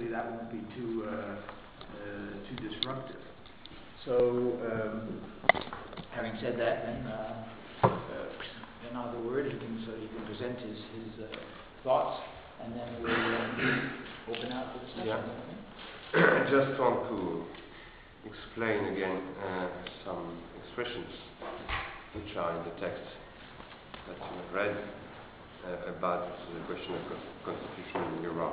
that won't be too disruptive. So, having said that, then now the word, he can present his thoughts, and then we'll open out for discussion. Yeah. I just want to explain again some expressions which are in the text that you have read about the question of constitution in Europe.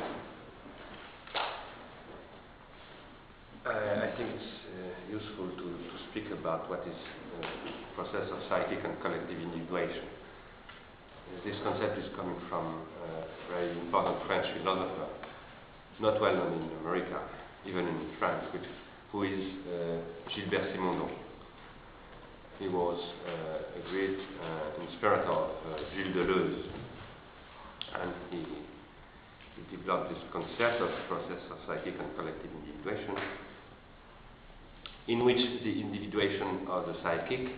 I think it's useful to speak about what is the process of psychic and collective individuation. This concept is coming from a very important French philosopher, not well known in America, even in France, who is Gilbert Simondon. He was a great inspirator of Gilles Deleuze, and he developed this concept of the process of psychic and collective individuation, in which the individuation of the psychic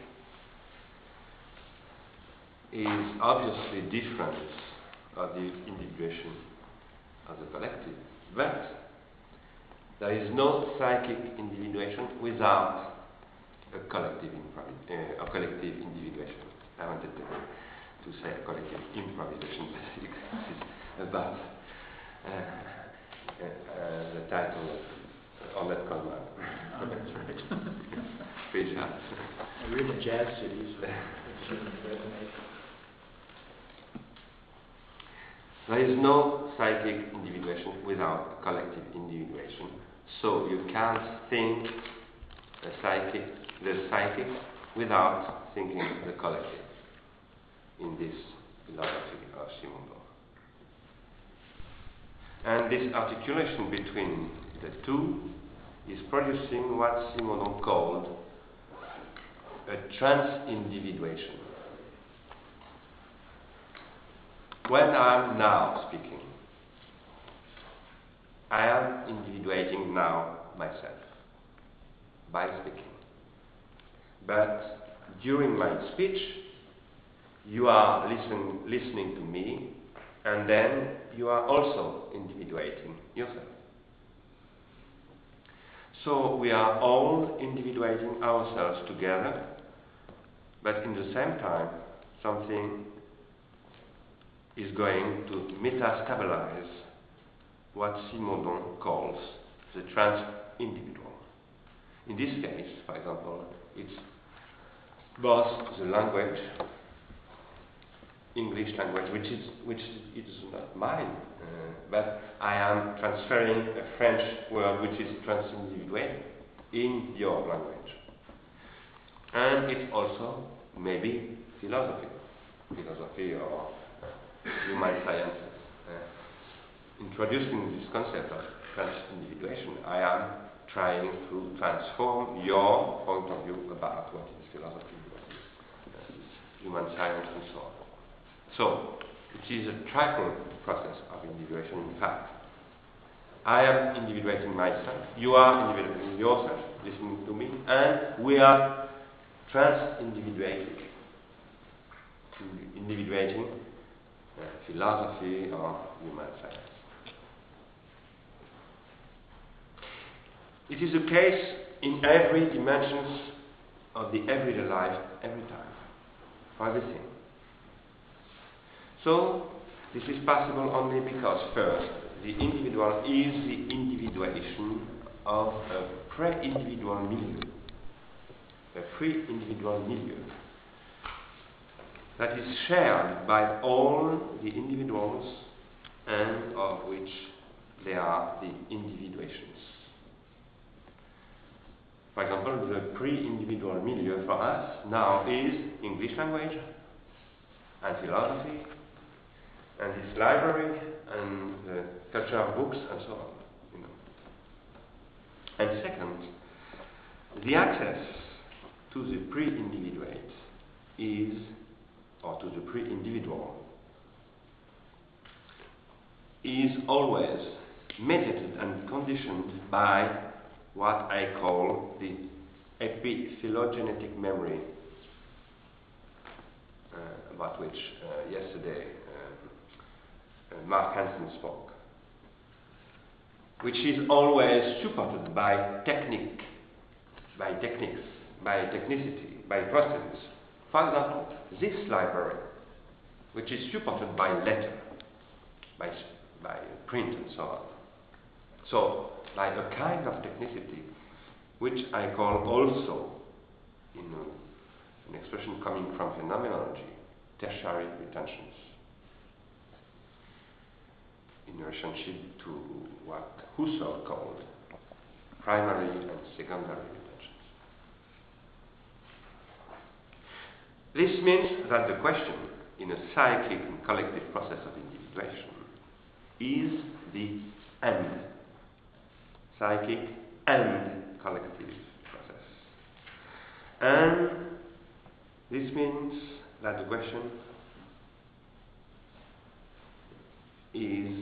is obviously different of the individuation of the collective, but there is no psychic individuation without a collective individuation. I wanted to say a collective improvisation, but this is about the title of Ornette Coleman. Oh, that's right. Free jazz. We're in the jazz city, so it shouldn't resonate. There is no psychic individuation without collective individuation. So you can't think the psychic without thinking the collective in this philosophy of Simondon. And this articulation between the two is producing what Simondon called a trans-individuation. When I am now speaking, I am individuating now myself by speaking. But during my speech, you are listening to me, and then you are also individuating yourself. So we are all individuating ourselves together, but in the same time, something is going to metastabilize what Simondon calls the trans-individual. In this case, for example, it's both the language, English language, which is not mine, but I am transferring a French word which is trans-individual in your language. And it's also maybe philosophy or human sciences. Introducing this concept of trans-individuation, I am trying to transform your point of view about what is philosophy, what is human science, and so on. So, it is a triple process of individuation, in fact. I am individuating myself, you are individuating yourself, listening to me, and we are trans-individuating, philosophy or human science. It is the case in every dimensions of the everyday life, every time, for everything. So, this is possible only because, first, the individual is the individuation of a pre-individual milieu, a pre-individual milieu that is shared by all the individuals and of which they are the individuations. For example, the pre-individual milieu for us now is English language and philosophy and this library and the culture of books and so on. And second, the access to the pre-individuate or to the pre-individual is always mediated and conditioned by what I call the epiphylogenetic memory, about which yesterday Mark Hansen spoke. which is always supported by techniques, by technicity, by processes. For example, this library, which is supported by letter, by print and so on. So, like a kind of technicity, which I call also, in an expression coming from phenomenology, tertiary retentions, in relationship to what Husserl called primary and secondary retentions. This means that the question in a psychic and collective process of individuation is the end, psychic and collective process. And this means that the question is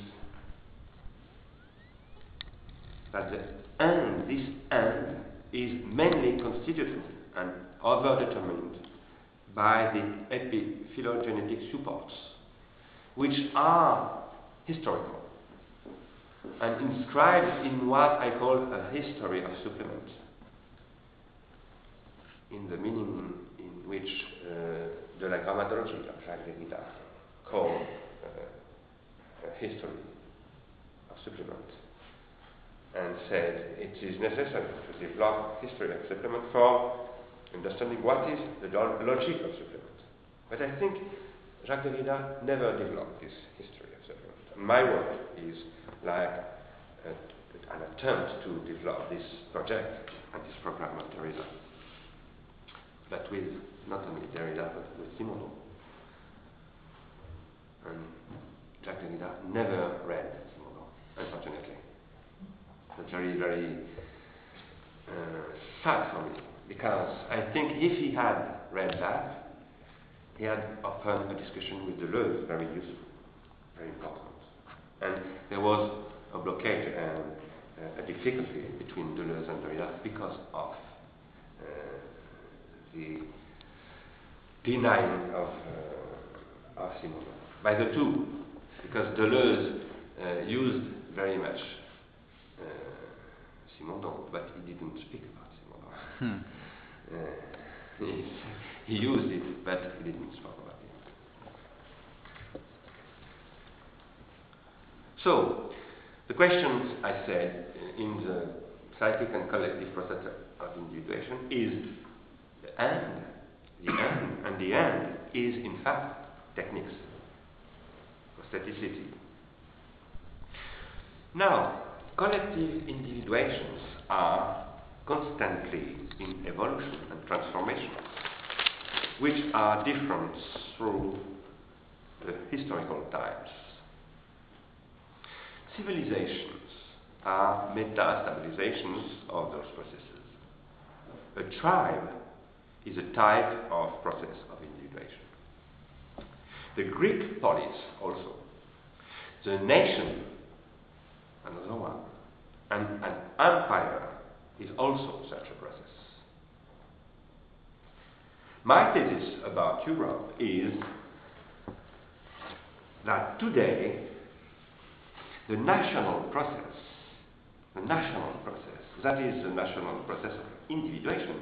that the end, this end, is mainly constituted and overdetermined by the epiphylogenetic supports, which are historical and inscribed in what I call a history of supplement, in the meaning in which de la grammatologie of Jacques Derrida called a history of supplement, and said it is necessary to develop history of supplement for understanding what is the logic of supplement. But I think Jacques Derrida never developed this history of supplement. And my work is like an attempt to develop this project and this program of Derrida, but with not only Derrida but with Simondon. And Jacques Derrida never read Simondon, unfortunately. It's very, very sad for me, because I think if he had read that, he had often a discussion with Deleuze, very useful, very important. And there was a blockade and a difficulty between Deleuze and Derrida because of the denying of Simondon by the two, because Deleuze used very much Simondon, but he didn't speak about Simondon. He used it, but he didn't speak about it. So, the questions I said in the psychic and collective process of individuation is the end, and the end is in fact techniques, staticity. Now, collective individuations are constantly in evolution and transformation, which are different through the historical times. Civilizations are meta-stabilizations of those processes. A tribe is a type of process of individuation. The Greek polis also. The nation, another one. And an empire is also such a process. My thesis about Europe is that today the national process, that is the national process of individuation,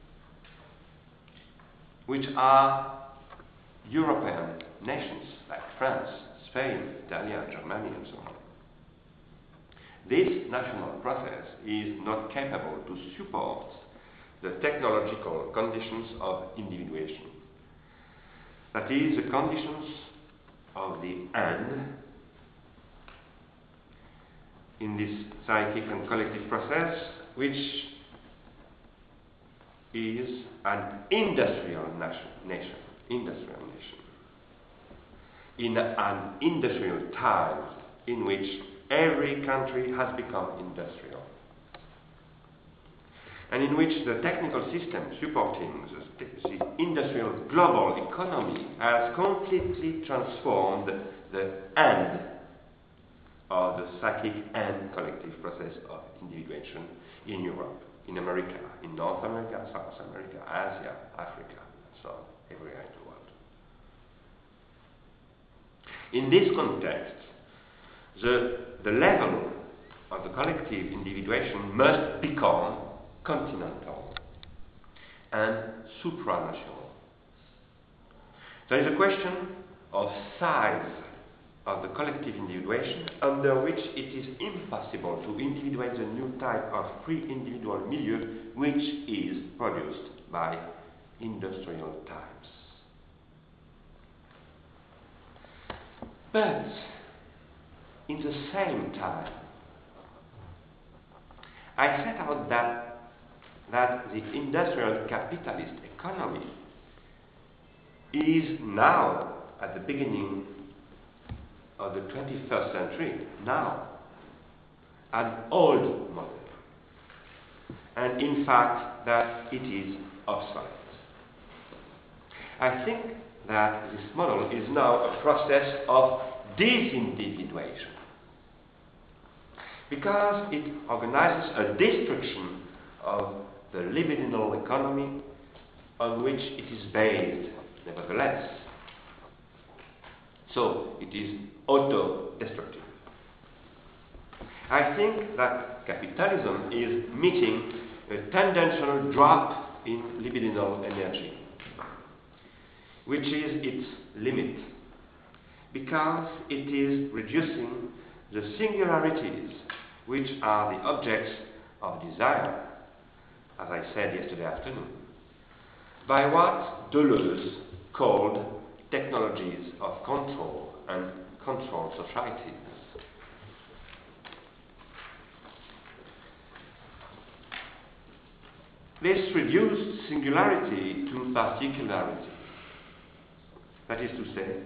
which are European nations like France, Spain, Italy, Germany, and so on. This national process is not capable to support the technological conditions of individuation. That is, the conditions of the end in this psychic and collective process, which is an industrial nation, in an industrial time in which every country has become industrial, and in which the technical system supporting the industrial global economy has completely transformed the end of the psychic and collective process of individuation in Europe, in America, in North America, South America, Asia, Africa, and so on, everywhere in the world. In this context, the level of the collective individuation must become continental and supranational. There is a question of size of the collective individuation under which it is impossible to individuate the new type of pre-individual milieu which is produced by industrial times. But in the same time, I set out that the industrial capitalist economy is now, at the beginning of the 21st century, now an old model, and in fact that it is obsolete. I think that this model is now a process of disindividuation, because it organizes a destruction of the libidinal economy on which it is based, nevertheless. So it is auto-destructive. I think that capitalism is meeting a tendential drop in libidinal energy, which is its limit, because it is reducing the singularities which are the objects of desire, as I said yesterday afternoon, by what Deleuze called technologies of control and control societies. This reduced singularity to particularity, that is to say,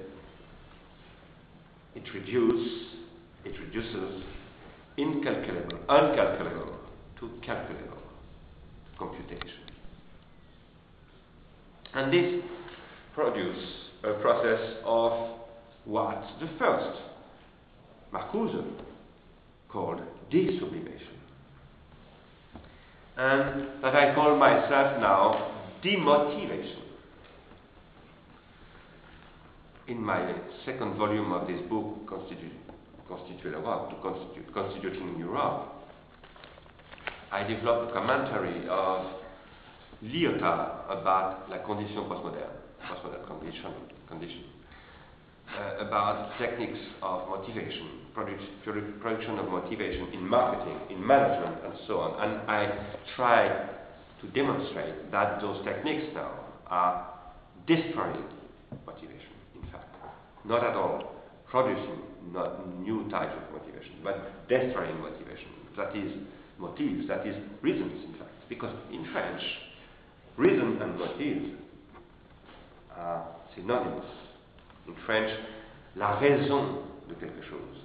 it reduces uncalculable to calculable computation. And this produces a process of what the first Marcuse called desublimation, and that I call myself now demotivation. In my second volume of this book, Constituting Europe, I developed a commentary of Lyotard about la condition postmodern condition, about techniques of motivation, production of motivation in marketing, in management, and so on. And I try to demonstrate that those techniques now are destroying motivation, in fact. Not at all producing new types of motivation, but destroying motivation. That is motives, that is reasons, in fact. Because in French, reason and motive are synonymous. In French, la raison de quelque chose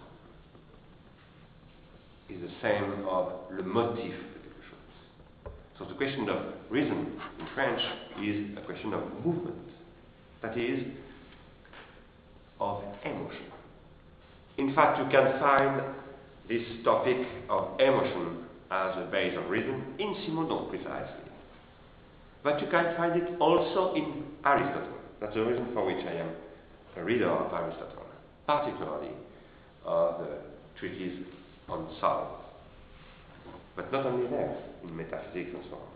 is the same of le motif de quelque chose. So the question of reason in French is a question of movement, that is, of emotion. In fact, you can find this topic of emotion as a base of reason in Simondon, precisely. But you can find it also in Aristotle. That's the reason for which I am a reader of Aristotle, particularly of the treatise on soul. But not only there, in metaphysics and so on.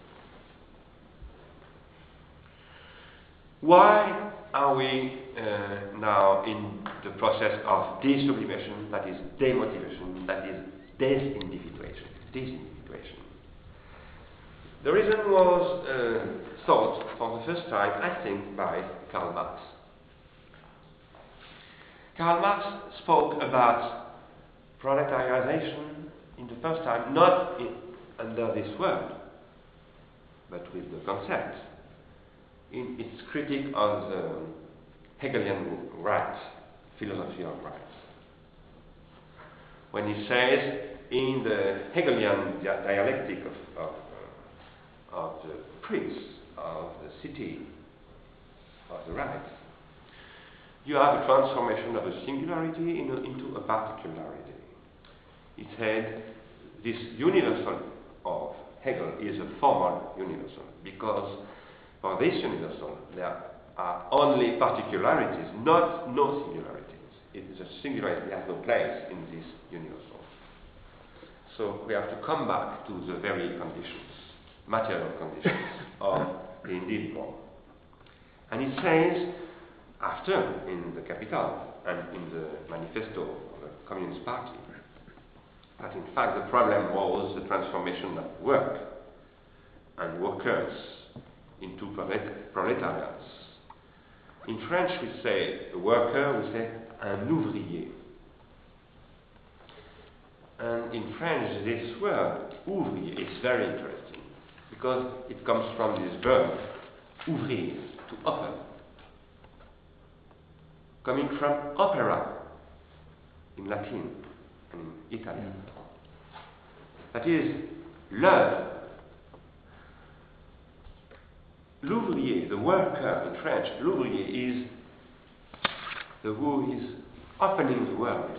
Why are we now in the process of desublimation, that is demotivation, that is disindividuation? The reason was thought for the first time, I think, by Karl Marx. Karl Marx spoke about proletarization in the first time, not under this word, but with the concept, in its critique of the Hegelian rights, philosophy of rights. When he says, in the Hegelian dialectic of the prince, of the city, of the rights, you have a transformation of a singularity into a particularity. He said this universal of Hegel is a formal universal, because for this universal there are only particularities, no singularities. It is a singularity that has no place in this universal. So we have to come back to the very conditions, material conditions of the individual. And it says, after, in the Capital and in the manifesto of the Communist Party, that in fact the problem was the transformation of work and workers into proletariats. In French we say a worker, we say un ouvrier. And in French this word, ouvrier, is very interesting because it comes from this verb, ouvrir, to open, coming from opera in Latin and in Italian. That is, l'œuvre. L'ouvrier, the worker in French, l'ouvrier is the who is opening the world.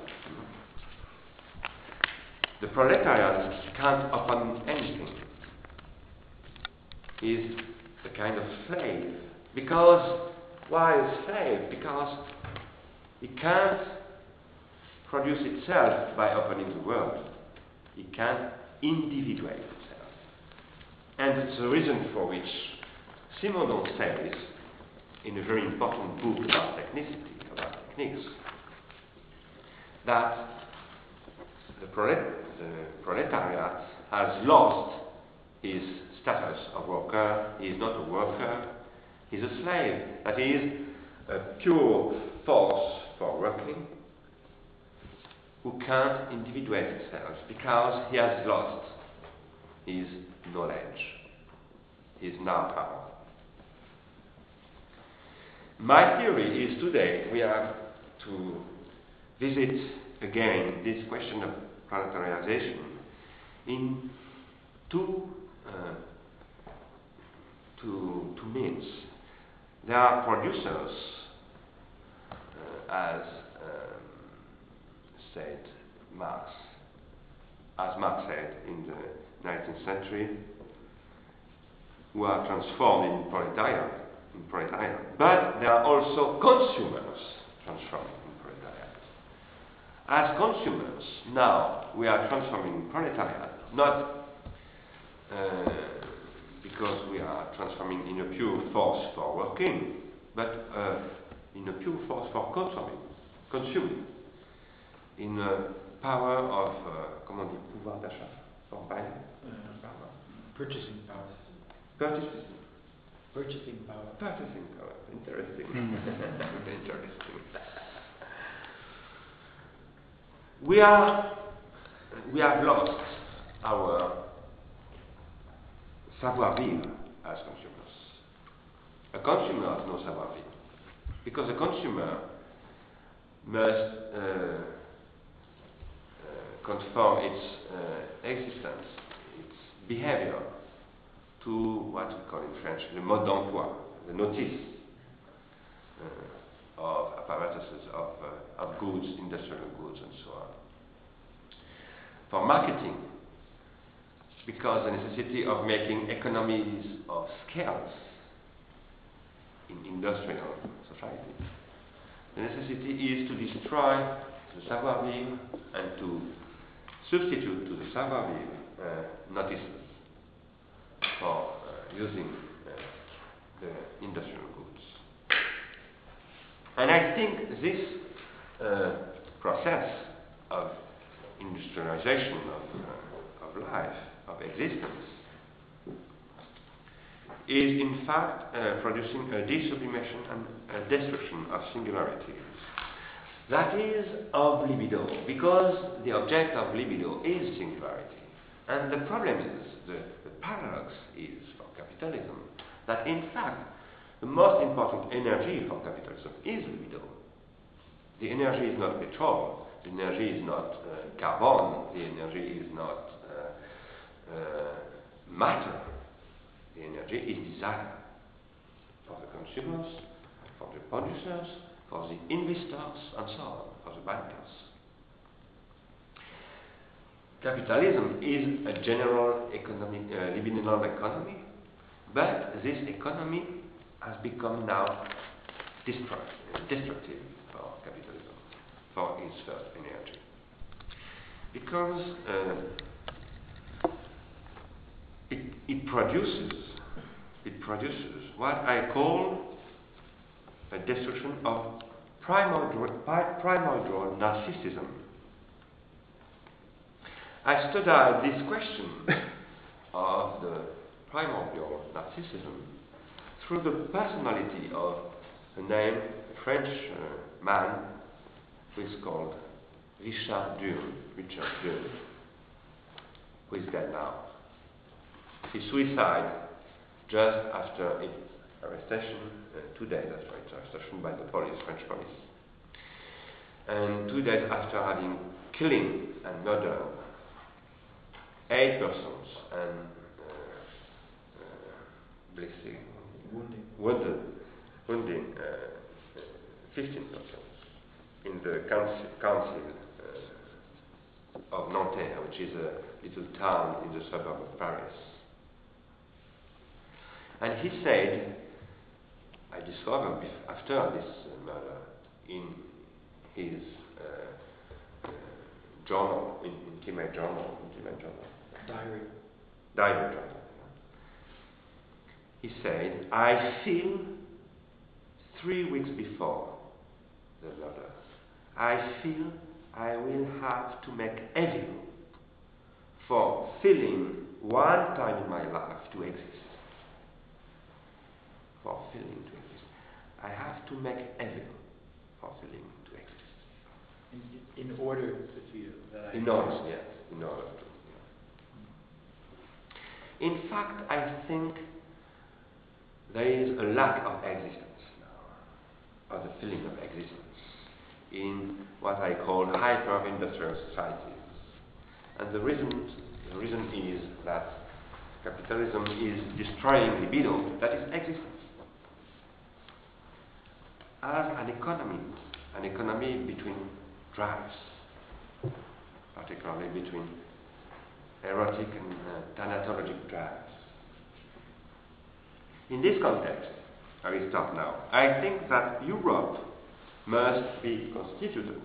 The proletariat can't open anything. He is a kind of slave. Because, why a slave? Because he can't produce itself by opening the world. He can't individuate itself. And it's the reason for which Simondon says, in a very important book about technicity, about techniques, that the proletariat has lost his status of worker. He is not a worker, he is a slave. That is, a pure force for working, who can't individuate itself because he has lost his knowledge, his know-how. My theory is today we have to visit again this question of proletarialization in two means. There are producers, as said Marx, as Marx said in the 19th century, who are transformed in proletariat. But there are also consumers transformed in proletariat. As consumers, now we are transforming in proletariat, not because we are transforming in a pure force for working, but in a pure force for consuming, in a power of, comment on dit, pouvoir d'achat, for buying, Purchasing power. Purchasing power. Interesting. Interesting. We have lost our savoir-vivre as consumers. A consumer has no savoir-vivre because a consumer must conform its existence, its behavior, to what we call in French the mode d'emploi, the notice of apparatuses, of goods, industrial goods, and so on. For marketing, because the necessity of making economies of scales in industrial society, the necessity is to destroy the savoir-vivre and to substitute to the savoir-vivre notices for using the industrial goods. And I think this process of industrialization of life, of existence, is in fact producing a desublimation and a destruction of singularities. That is of libido, because the object of libido is singularity. And the problem is, the paradox is for capitalism, that in fact the most important energy for capitalism is libido. The energy is not petrol, the energy is not carbon, the energy is not matter. The energy is desire for the consumers, for the producers, for the investors, and so on, for the bankers. Capitalism is a general economic, libidinal economy, but this economy has become now destructive for capitalism, for its first energy. Because produces what I call a destruction of primordial narcissism. I studied this question of the primordial narcissism through the personality of a named French man who is called Richard Durn, who is dead now. He suicided just after its arrestation, 2 days after its arrestation by the police, French police. And 2 days after having killing and murdered 8 persons and wounding 15 persons in the council of Nanterre, which is a little town in the suburb of Paris. And he said, I discovered after this murder in his journal, intimate journal. Diary journal. He said, I feel 3 weeks before the murder, I feel I will have to make evil for feeling one time in my life to exist. For feeling to exist. I have to make evil for feeling to exist. In order to feel that I... In order, yes. In order to. Yeah. In fact, I think there is a lack of existence now, of the feeling of existence, in what I call hyper-industrial societies. And the reason is that capitalism is destroying libido, that is existence. As an economy between drives, particularly between erotic and thanatologic drives. In this context, I will stop now. I think that Europe must be constituted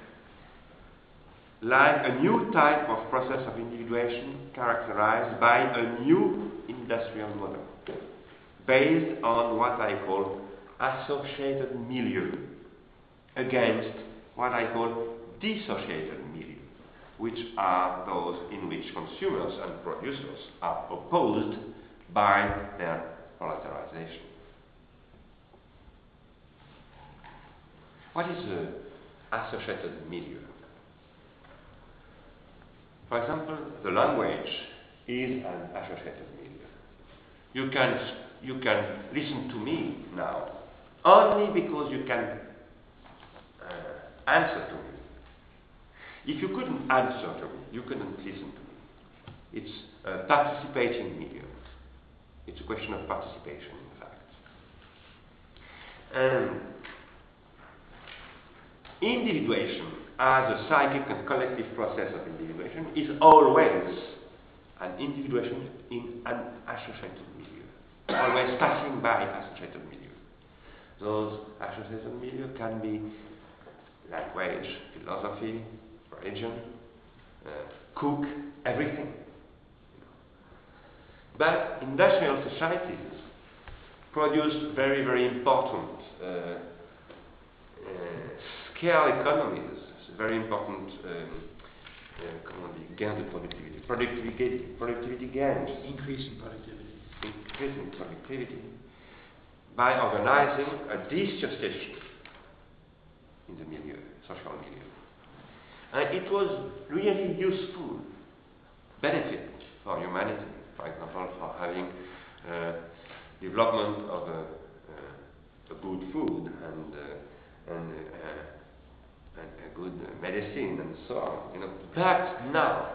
like a new type of process of individuation characterized by a new industrial model based on what I call associated milieu against what I call dissociated milieu, which are those in which consumers and producers are opposed by their proletarization. What is the associated milieu? For example, the language is an associated milieu. You can listen to me now only because you can answer to me. If you couldn't answer to me, you couldn't listen to me. It's a participating milieu. It's a question of participation, in fact. And individuation as a psychic and collective process of individuation is always an individuation in an associated milieu, always passing by associated milieu. Those associated milieu can be language, philosophy, religion, cook, everything. But industrial societies produce very, very important scale economies, very important gains of productivity gains. Increase in productivity. Increase in productivity by organizing a dissociation in the milieu, social milieu. And it was really useful benefit for humanity, for example, for having development of a good food and a good medicine and so on. You know. But now,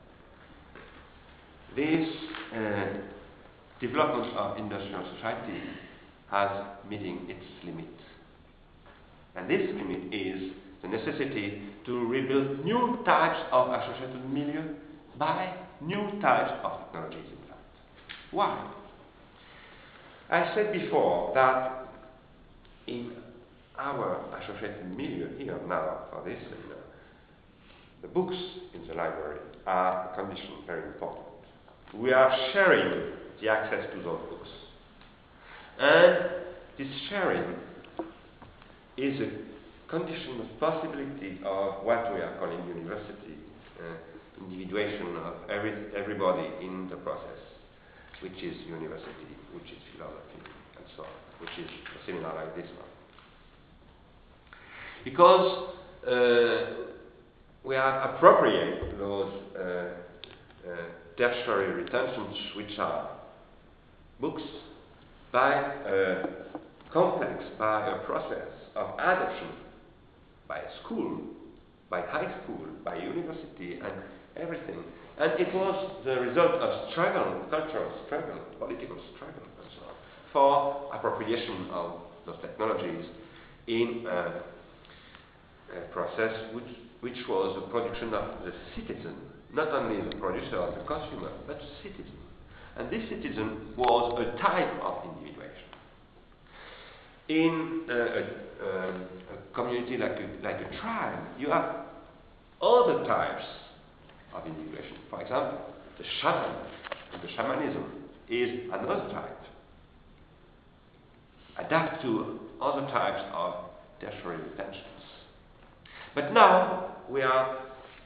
this development of industrial society has meeting its limit. And this limit is the necessity to rebuild new types of associated milieu by new types of technologies, in fact. Why? I said before that in our associated milieu here now for this seminar, the books in the library are a condition very important. We are sharing the access to those books. And this sharing is a condition of possibility of what we are calling university, individuation of everybody in the process, which is university, which is philosophy, and so on, which is a seminar like this one. Because we are appropriate those tertiary retentions, which are books, by a complex, by a process of adoption, by school, by high school, by university, and everything. And it was the result of struggle, cultural struggle, political struggle, and so on, for appropriation of those technologies in a process which was the production of the citizen, not only the producer or the consumer, but the citizen. And this citizen was a type of individuation. In a community like a tribe, you have other types of individuation. For example, the shaman, the shamanism is another type, adapt to other types of tertiary retentions. But now we are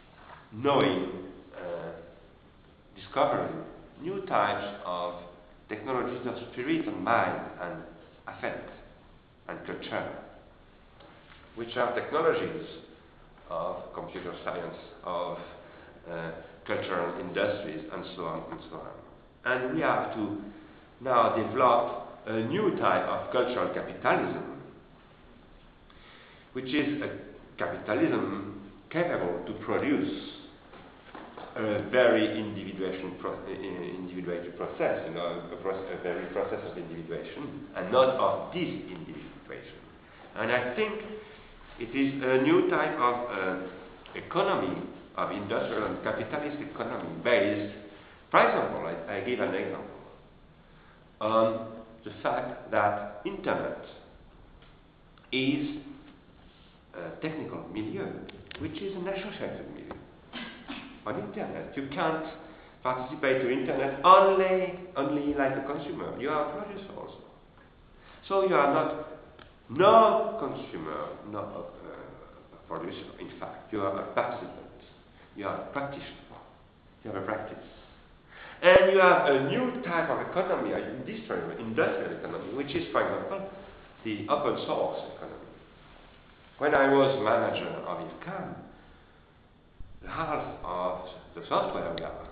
discovering new types of technologies of spirit and mind and affect and culture, which are technologies of computer science, of cultural industries, and so on and so on. And we have to now develop a new type of cultural capitalism, which is a capitalism capable to produce a very individuated process, a very process of individuation, and not of disindividuation. And I think it is a new type of economy, of industrial and capitalist economy, based, for example, I give an example, on the fact that Internet is a technical milieu, which is an associated milieu. On Internet, you can't participate to Internet only like a consumer. You are a producer also. So you are not no consumer, no a producer. In fact, you are a participant. You are a practitioner. You have a practice. And you have a new type of economy, an industrial economy, which is, for example, the open source economy. When I was manager of IFCAM, half of the software we are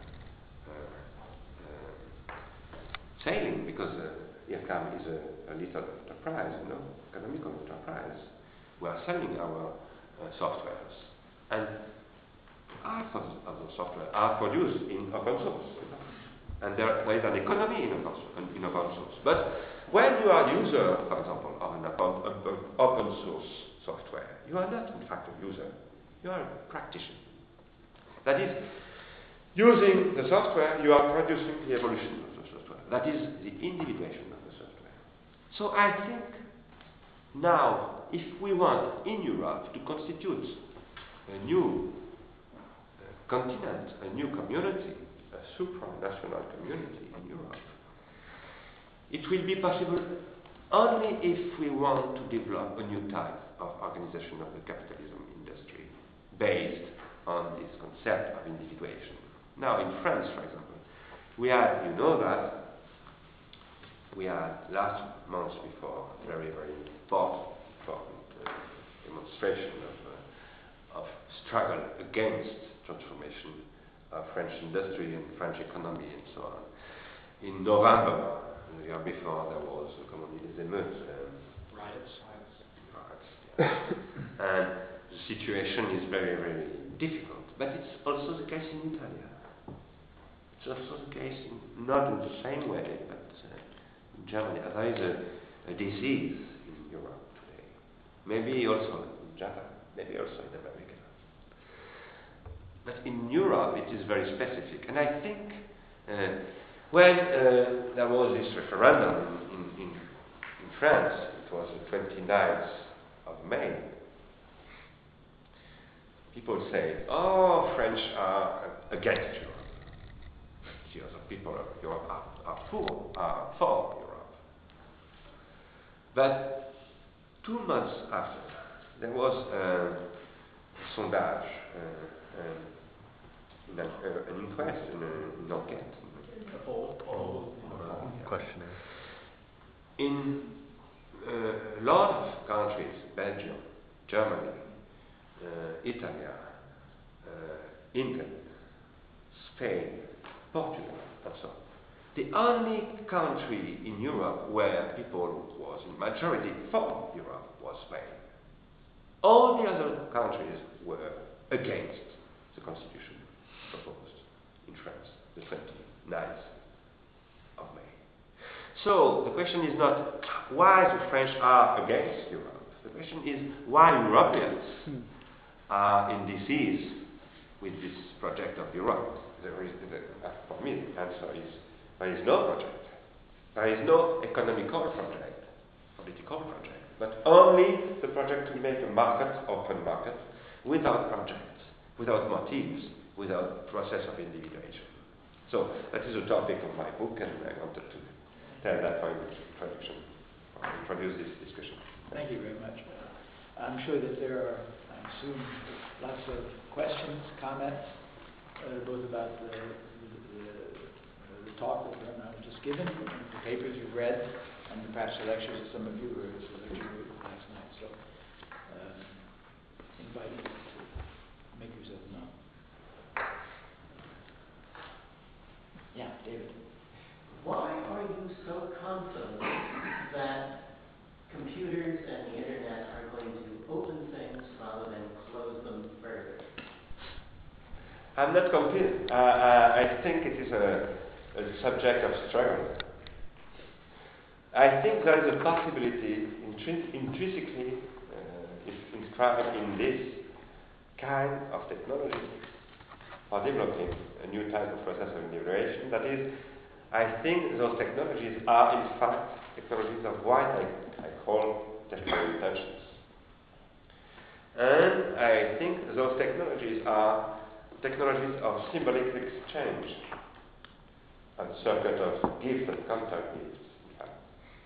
selling, because IFCAM is a little enterprise, economical enterprise. We are selling our softwares, and half of the software are produced in open source, and there is an economy in open source. But when you are a user, for example, of an open source software, you are not in fact a user, you are a practitioner. That is, using the software, you are producing the evolution of the software. That is the individuation of the software. So I think now, if we want in Europe to constitute a new continent, a new community, a supranational community in Europe, it will be possible only if we want to develop a new type of organization of the capitalism industry based on this concept of individuation. Now in France, for example, we had, you know that, we had last month before a very, very important demonstration of struggle against transformation of French industry and French economy and so on. In November, the year before, there was des émeutes, riots. And the situation is very, very difficult. But it's also the case in Italy. It's also the case, not in the same way, but in Germany. There is a disease in Europe today. Maybe also in Japan, maybe also in America. But in Europe, it is very specific. And I think when there was this referendum in France, it was the 29th of May, people say, oh, French are against Europe. 2/3 of people of Europe are for Europe. But 2 months after, there was a sondage, an inquest, an enquête, Questionnaire. in a lot of countries, Belgium, Germany, Italy, England, Spain, Portugal, and so on. The only country in Europe where people was in majority for Europe was Spain. All the other countries were against the constitution proposed in France, the 29th of May. So the question is not why the French are against Europe. The question is why Europeans are in disease with this project of Europe. For me, the answer is there is no project. There is no economical project, political project, but only the project to make a market, open market, without projects, without motives, without process of individuation. So that is the topic of my book, and I wanted to tell that for introduction, or introduce this discussion. Thank you very much. I'm sure that there are, I assume, lots of questions, comments, both about the talk that Bernard just given, the papers you've read, and perhaps the lectures that some of you heard last night. So, invite you to make yourself known. Yeah, David. Why are you so confident that computers and the internet are going to open things rather than close them further? I'm not convinced. I think it is a subject of struggle. I think there is a possibility intrinsically inscribed in this kind of technology for developing a new type of process of individuation. That is, I think those technologies are in fact technologies of what I call technical intentions. And I think those technologies are technologies of symbolic exchange, and circuit of gifts and counter gifts, in fact.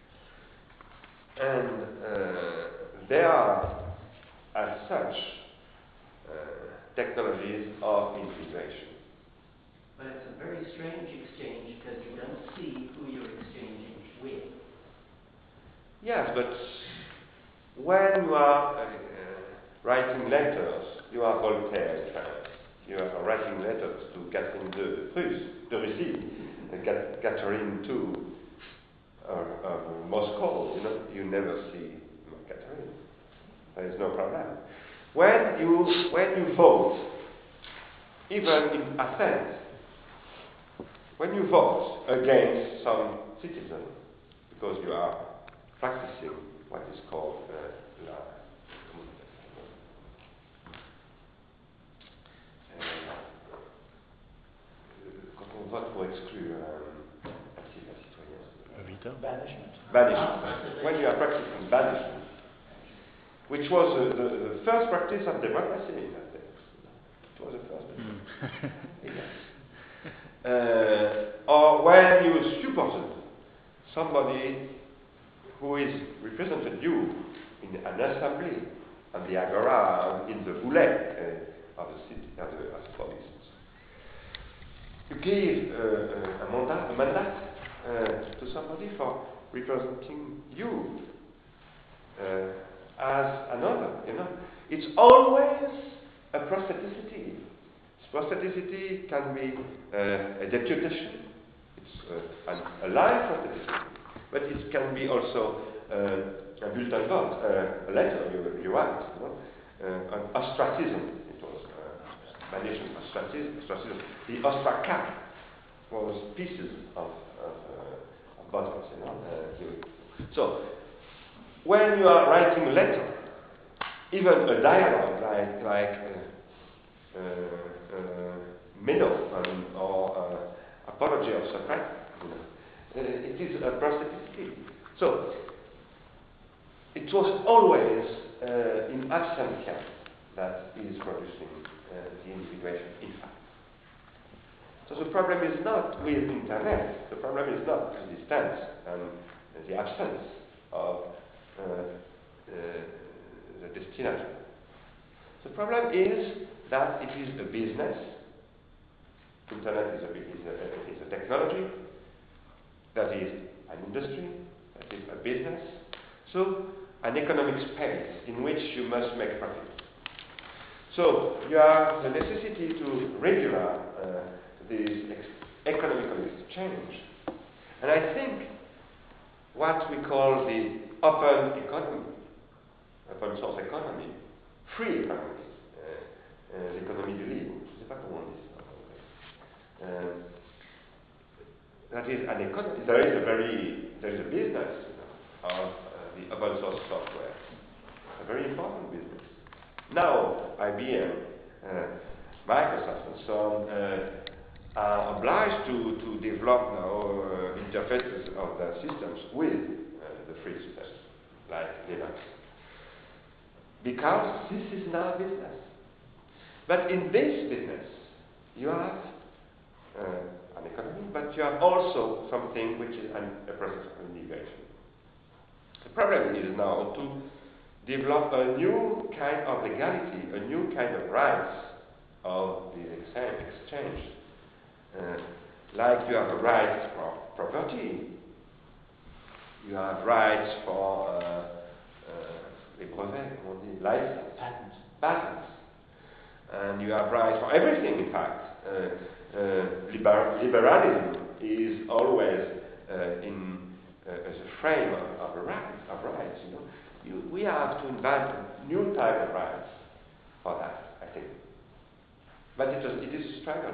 And they are, as such, technologies of integration. But it's a very strange exchange because you don't see who you're exchanging with. Yes, but when you are writing letters, you are Voltaire in France. You are writing letters to Catherine de Russie, Catherine II of Moscow. You never see Catherine. There is no problem. When you vote, even in Athens, when you vote against some citizen, because you are practicing what is called quand on vote pour exclure la citoyenne. Banishment. Banishment. When you are practicing banishment, which was the first practice of democracy in Athens. It was the first. Yes. Or when you suppose somebody who is represented you in an assembly, on the agora, in the boulette of the city, of the province. You give a mandat to somebody for representing you as another. It's always a prostheticity. Prostheticity can be a deputation. It's a live prostheticity. But it can be also a bulletin vote, a letter you write, an ostracism. It was banishment, ostracism. The ostraca was pieces of bottles, So, when you are writing a letter, even a dialogue like Meno or Apology of Socrates, it is a prostheticity. So, it was always in absentia that is producing the individuation, in fact. So the problem is not with internet, the problem is not the distance and the absence of the destination. The problem is that it is a business. Internet is a technology, that is an industry, that is a business. So an economic space in which you must make profit. So you have the necessity to regulate this economical exchange. And I think what we call the open economy, open source economy, free economy, l'économie du libre, je ne sais pas comment on dit ça. That is an economy. There is a business of the open source software, a very important business. Now, IBM, Microsoft, and so on are obliged to develop now interfaces of their systems with the free systems, like Linux, because this is now business. But in this business, you have an economy, but you have also something which is a process of integration. The problem is now to develop a new kind of legality, a new kind of rights of the exchange. Like you have a right for property, you have rights for les brevets, comment on dit, license, patents, and you have rights for everything. In fact, liberalism is always in as a frame of rights. You know, we have to invent a new type of rights for that, I think. But it is a struggle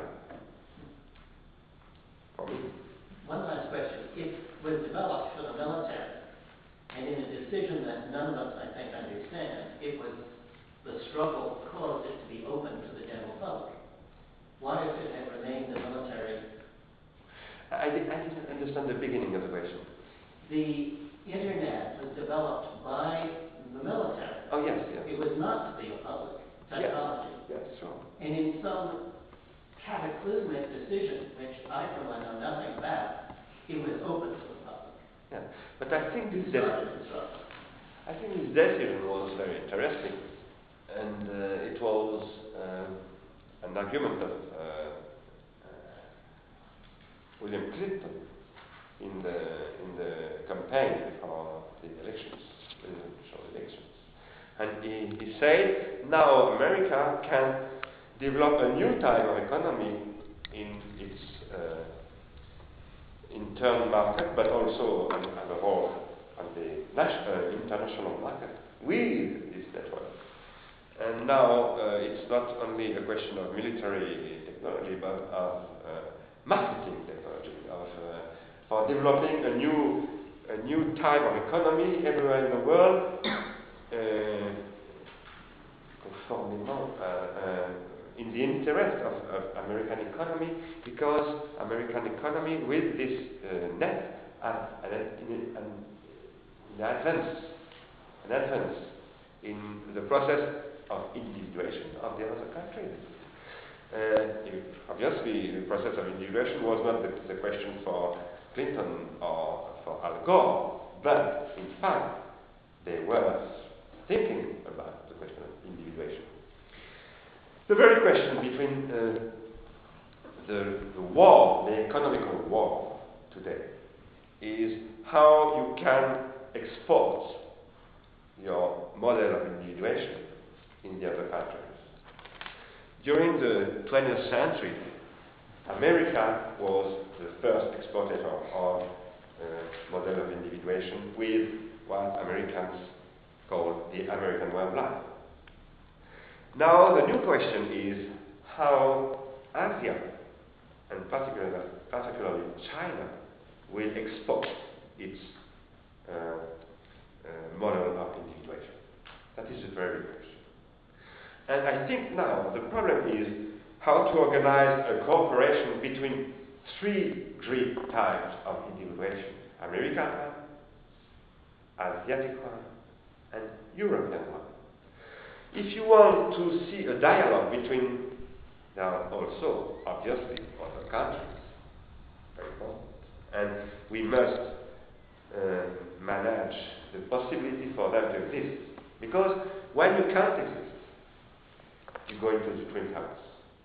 for me. One last question. It was developed for the military, and in a decision that none of us, I think, understand, it was the struggle caused it to be open to the general public. Why, if it had remained the military? I didn't understand the beginning of the question. The Internet was developed by the military. Oh, yes. It was not to be a public technology. Yes, sure. And in some cataclysmic decision, which I, for one, know nothing about, it was open to the public. Yeah, but I think this decision was very interesting, and it was an argument of William Clinton in the campaign for the presidential elections. And he said, now America can develop a new type of economy in its internal market, but also above all on the international market with this network. And now it's not only a question of military technology, but of marketing technology, for developing a new type of economy everywhere in the world, in the interest of American economy, because American economy with this net an advance in the process of individuation of the other countries. Obviously, the process of individuation was not the question for Clinton or for Al Gore, but in fact, they were thinking about the question of individuation. The very question between the war, the economical war today, is how you can export your model of individuation in the other countries. During the 20th century, America was the first exporter of model of individuation with what Americans call the American way of life. Now the new question is how Asia, and particularly China, will export its model of individuation. That is a very big question. And I think now the problem is how to organize a cooperation between three great types of individuation: American one, Asiatic one, and European one. If you want to see a dialogue between There are also, obviously, other countries, very important. And we must manage the possibility for them to exist. Because when you can't exist, you go into the twin towers.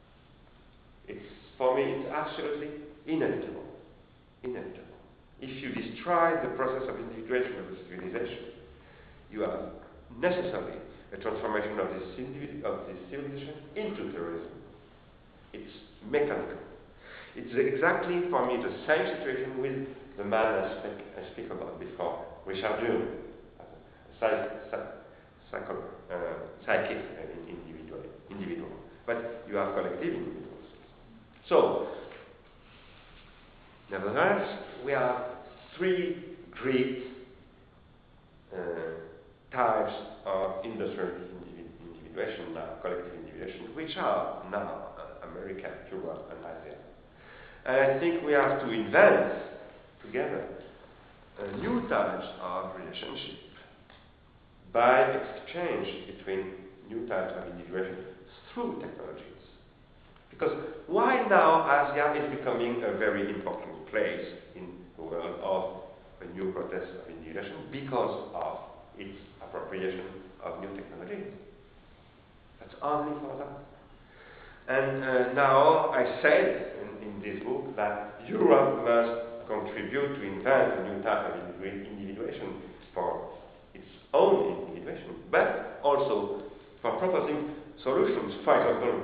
For me, it's absolutely inevitable. Inevitable. If you destroy the process of integration of the civilization, you have necessarily a transformation of this civilization into terrorism. It's mechanical. It's exactly, for me, the same situation with the man I speak about before, Richard Jung, psychic individual. But you have collective individuals. So, nevertheless, we have three great types of industrial individuation now, collective individuation, which are now America, Europe, and Asia. And I think we have to invent together new types of relationship by exchange between new types of individuation through technologies. Because why now Asia is becoming a very important place in the world of a new process of individuation? Because of its appropriation of new technologies. That's only for that. And now I said in this book that Europe must contribute to invent a new type of individuation for its own individuation, but also for proposing solutions. For example,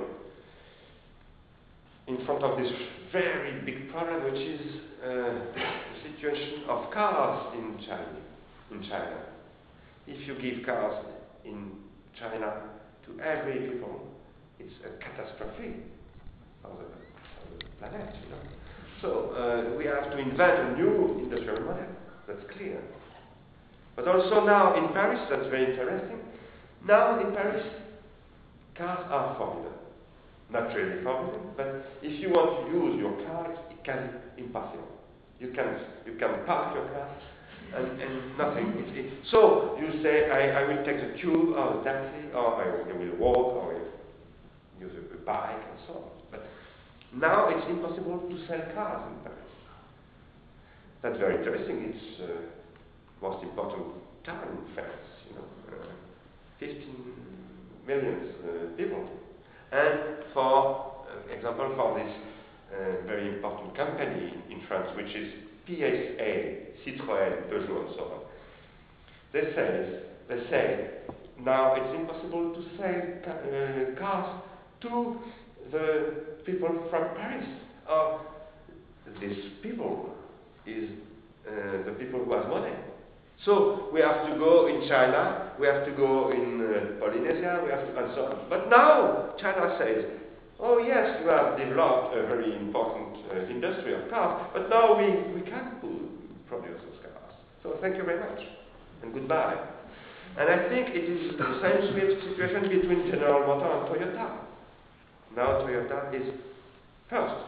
in front of this very big problem, which is the situation of cars in China. If you give cars in China to every people, it's a catastrophe of the planet, you know. So we have to invent a new industrial model. That's clear. But also now in Paris, that's very interesting. Now in Paris, cars are forbidden. Not really forbidden, but if you want to use your car, it can be impossible. You can park your car and nothing. So you say, I will take the tube or the taxi, or I will walk, or I will use a bike and so on. But now it's impossible to sell cars in Paris. That's very interesting. It's most important town in France. 15 million people. And for example, for this very important company in France, which is PSA, Citroën, Peugeot, and so on, they say now it's impossible to sell cars to the people from Paris. These people is the people who have money. So we have to go in China, we have to go in Polynesia, we have to, and so on. But now China says, oh yes, you have developed a very important industry of cars, but now we can't produce those cars. So thank you very much, and goodbye. And I think it is the same situation between General Motors and Toyota. Now Toyota is first,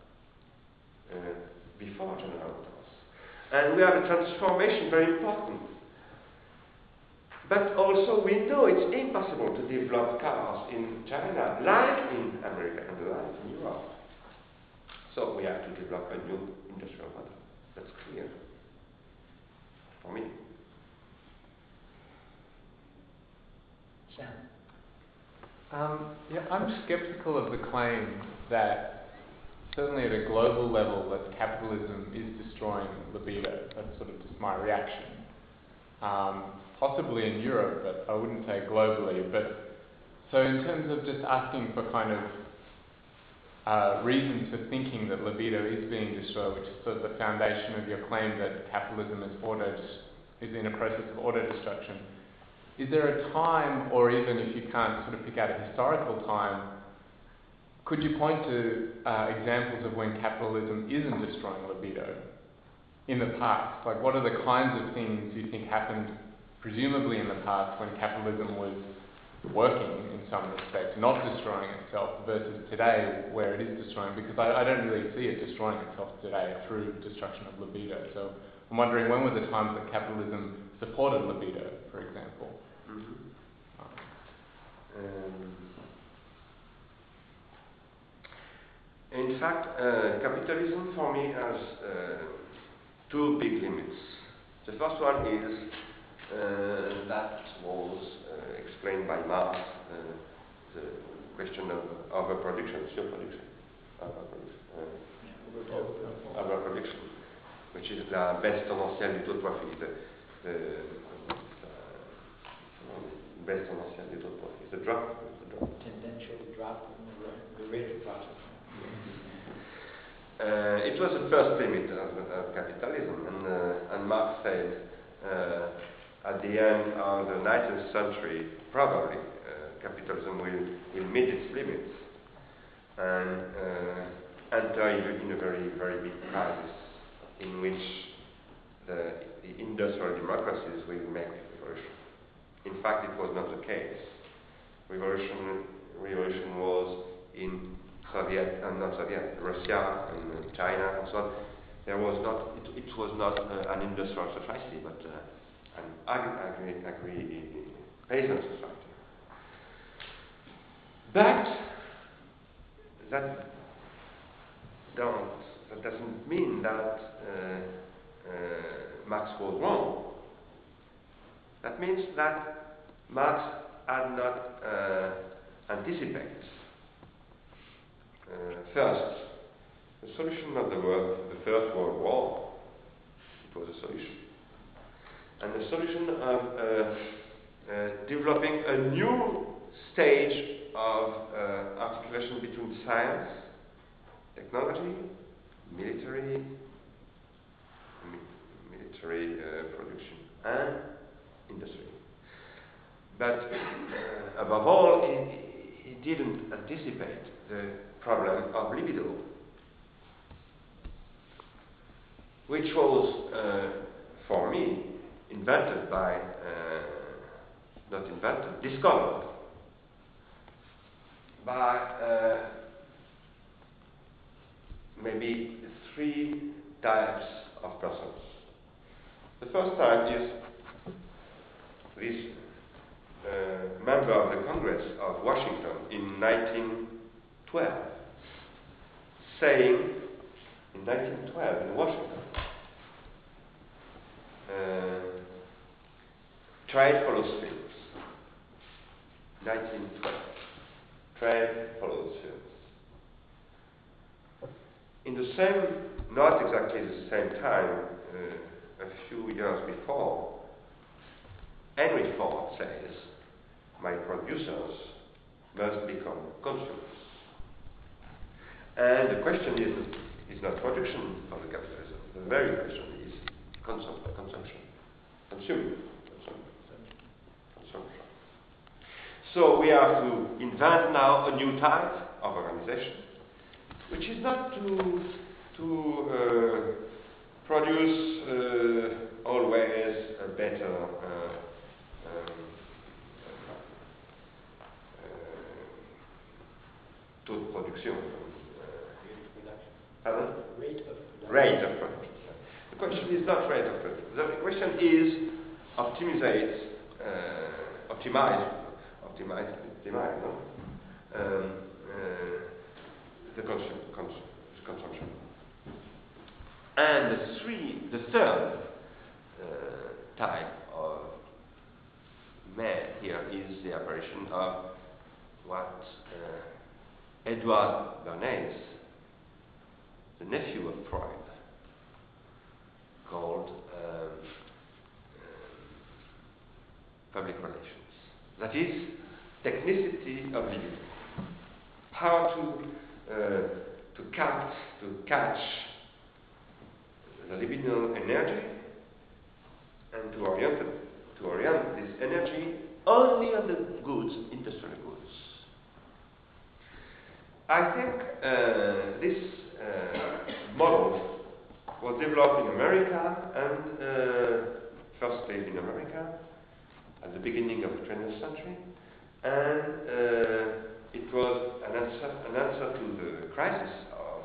before General Motors. And we have a transformation very important. But also we know it's impossible to develop cars in China, like in America and like in Europe. So we have to develop a new industrial model. That's clear for me. Sam? I'm skeptical of the claim that certainly at a global level that capitalism is destroying libido. That's sort of just my reaction. Possibly in Europe, but I wouldn't say globally. But so in terms of just asking for kind of reasons for thinking that libido is being destroyed, which is sort of the foundation of your claim that capitalism is in a process of auto-destruction, is there a time, or even if you can't sort of pick out a historical time, could you point to examples of when capitalism isn't destroying libido in the past? Like, what are the kinds of things you think happened, presumably in the past, when capitalism was working in some respects, not destroying itself, versus today, where it is destroying? Because I don't really see it destroying itself today through destruction of libido. So I'm wondering, when were the times that capitalism supported libido, for example? in fact, capitalism for me has two big limits. The first one is that was explained by Marx, the question of overproduction, surproduction, overproduction, which is la baisse tendancielle du taux de profit, the baisse tendancielle du taux de profit, the drop. Tendential drop in the rate of profit. It was the first limit of capitalism, and Marx said at the end of the 19th century, probably capitalism will meet its limits and enter in a very, very big crisis in which the industrial democracies will make revolution. In fact, it was not the case. Revolution was in Russia and China and so on. It was not an industrial society, but an agri peasant society. But that doesn't mean that Marx was wrong. That means that Marx had not anticipated. First, the solution of the First World War, it was a solution. And the solution of developing a new stage of articulation between science, technology, military production, and industry. But above all, he didn't anticipate the problem of libido, which was, for me, discovered by maybe three types of persons. The first type is this member of the Congress of Washington in 1912, saying, in 1912 in Washington, trade follows films. 1912, trade follows films. In the same, not exactly the same time, a few years before, Henry Ford says, my producers must become consumers. And the question is not production of the capitalism. The very question is consumption. Consumption. So we have to invent now a new type of organization, which is not to produce always a better taux de production. Rate of production. The question is not rate of production. The question is optimize the consumption. And the third type of man here is the apparition of what Edward Bernays, the nephew of Freud, called public relations. That is, technicity of living. How to catch the libidinal energy and to orient this energy only on the goods, industrial goods. I think this model was developed in America and first played in America at the beginning of the 20th century, and it was an answer to the crisis of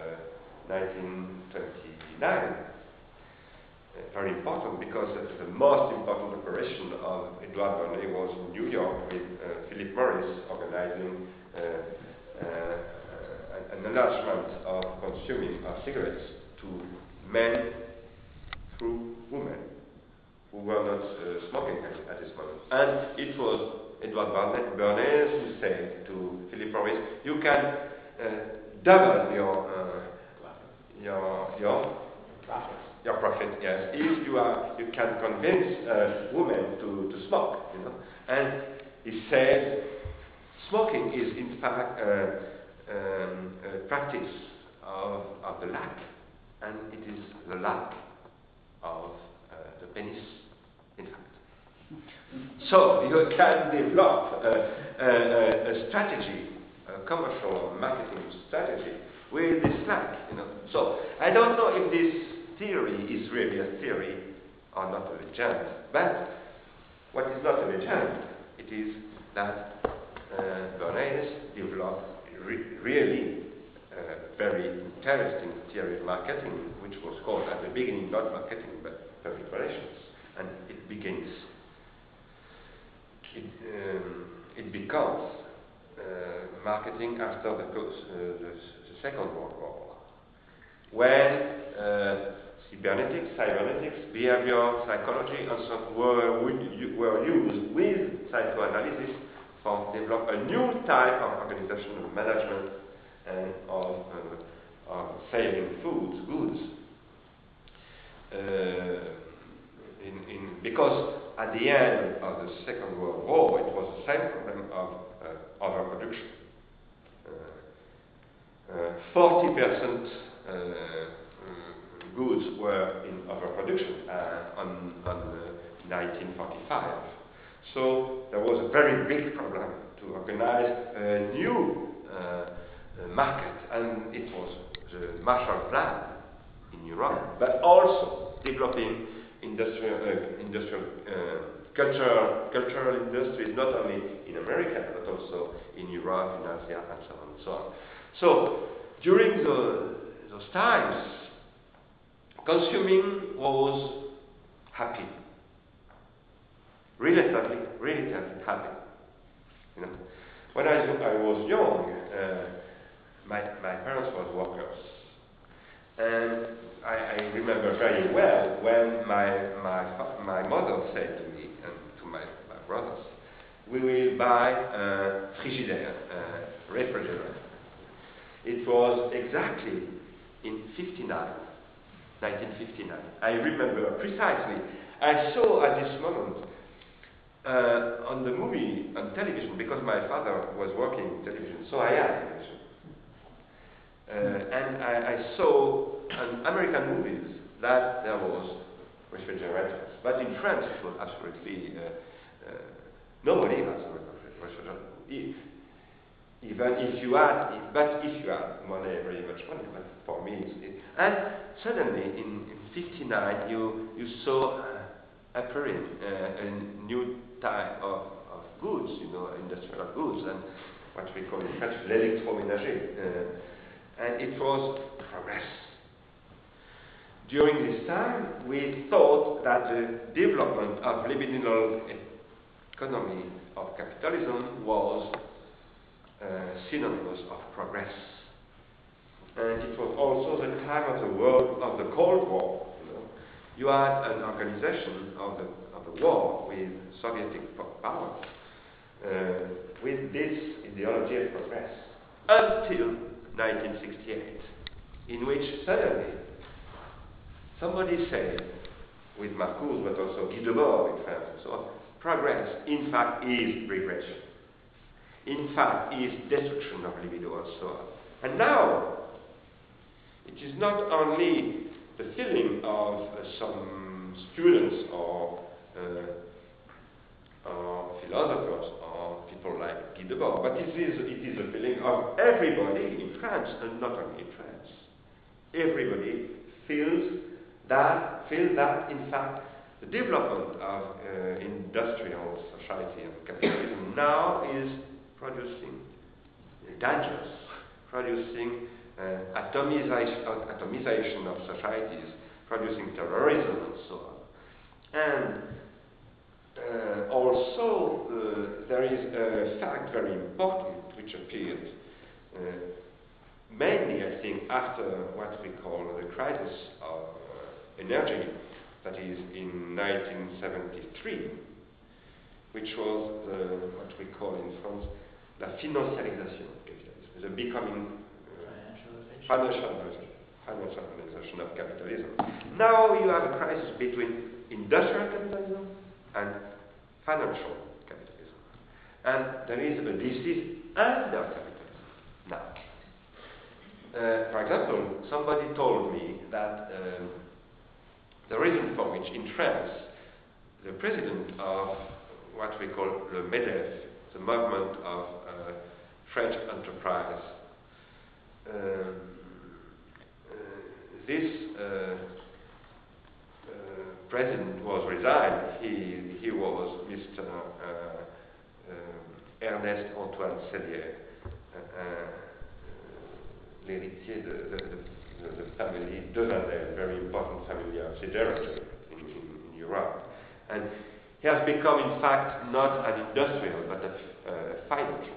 1929. Very important because the most important operation of Edouard Bernays was in New York with Philip Morris organizing an an enlargement of consuming of cigarettes to men through women who were not smoking at this moment. And it was Edward Bernays who said to Philip Morris, you can double your profit, yes, if you can convince women to smoke, you know. And he said, smoking is in fact a practice of the lack, and it is the lack of the penis, in fact. So you can develop a strategy, a commercial marketing strategy with this lack, you know. So I don't know if this theory is really a theory or not a legend, but what is not a legend, it is that Bernays developed really a very interesting theory of marketing, which was called at the beginning not marketing but public relations, and it becomes marketing after the Second World War, when cybernetics, behavior psychology, and so on were used with psychoanalysis for develop a new type of organizational management and of selling goods. Because at the end of the Second World War, it was the same problem of overproduction. 40% goods were in overproduction on 1945. So there was a very big problem to organize a new market, and it was the Marshall Plan in Europe, but also developing cultural industries, not only in America, but also in Europe, in Asia, and so on and so on. So during those times, consuming was happy, relatively happy. You know, when I was young, my parents were workers, and I remember very well when my mother said to me and to my brothers, "We will buy a frigidaire, refrigerator." It was exactly in 1959. I remember precisely. I saw at this moment on the movie, on television, because my father was working in television, so I had television. And I saw in American movies that there was refrigerators. But in France it was absolutely, nobody has a refrigerator. Even if you had, money, very much money, but for me and suddenly in 59 you saw appearing a new type of goods, you know, industrial goods, and what we call in French l'électroménager, and it was progress. During this time we thought that the development of libidinal economy of capitalism was synonymous of progress. And it was also the time of the Cold War. You know, you had an organization of the war with Soviet power with this ideology of progress until 1968, in which suddenly somebody said, with Marcuse but also Guy Debord in France and so on, progress in fact is regression. In fact, is destruction of libido and so on. And now, it is not only the feeling of some students or philosophers or people like Guy Debord, but it is a feeling of everybody in France, and not only in France. Everybody feels that in fact the development of industrial society and capitalism now is producing dangers, producing atomization of societies, producing terrorism and so on. And also there is a fact very important which appeared mainly, I think, after what we call the crisis of energy, that is in 1973, which was what we call in France la financiarisation of capitalism, the becoming financialization of capitalism. Now you have a crisis between industrial capitalism and financial capitalism. And there is a disease under capitalism now. For example, somebody told me that the reason for which in France the president of what we call le MEDEF, the movement of French enterprise, this president was resigned. He was Mr. Ernest Antoine Sellier, l'héritier the family Devanel, very important family of siderurgy in Europe. And he has become, in fact, not an industrial, but a financial.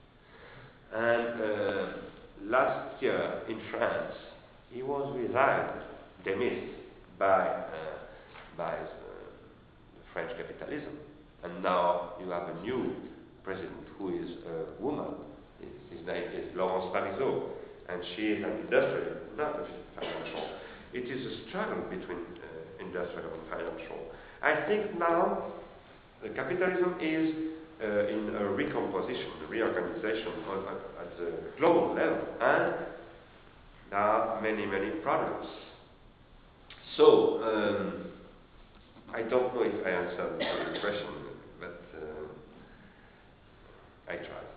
And last year in France, he was resigned, dismissed by the French capitalism. And now you have a new president who is a woman. His name is Laurence Parisot, and she is an industrial, not a financial. It is a struggle between industrial and financial. I think now the capitalism is in a recomposition, a reorganization at the global level, and there are many, many problems. So, I don't know if I answered the question, but I tried.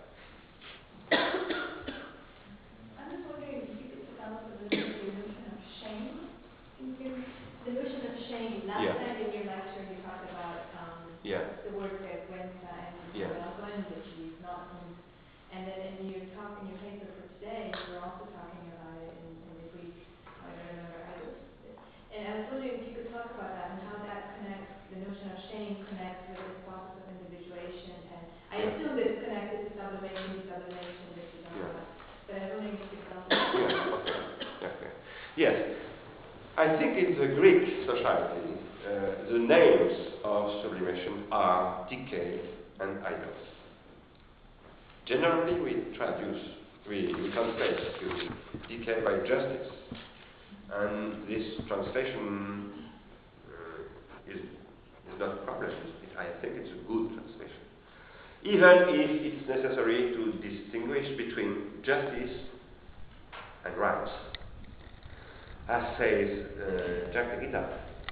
I'm just wondering if you could develop a little bit the notion of shame. The notion of shame. Last night in your lecture you talked about the work that went and Belgium, that she's not from, and then in your talk in your paper for today, you were also talking about it in the Greek. I don't remember either. And I was wondering if you could talk about that and how that connects. The notion of shame connects with this process of individuation, and I assume that it's connected to sublimation, desublimation, this is not. But I was wondering if you could tell us. Okay. Yes. I think in the Greek society, the names of sublimation are decay and idos. Generally, we translate to decay by justice. And this translation is not a problem. I think it's a good translation. Even if it's necessary to distinguish between justice and rights. As says Jacques Derrida.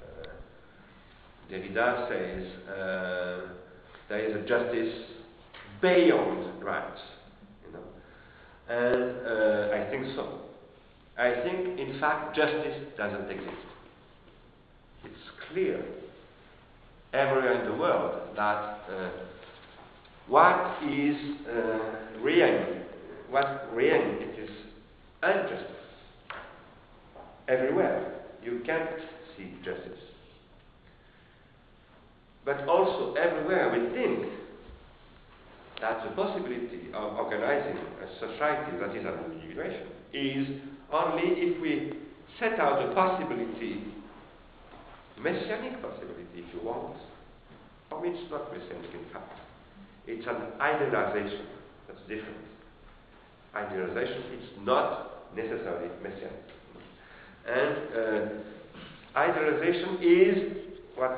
Derrida says there is a justice beyond rights, and I think so. I think, in fact, justice doesn't exist. It's clear everywhere in the world that what is reign, it is injustice. Everywhere you can't see justice. But also everywhere we think that the possibility of organizing a society that is an individuation is only if we set out a possibility, messianic possibility if you want. For me it's not messianic in fact. It's an idealization that's different. Idealization is not necessarily messianic. And idealization is what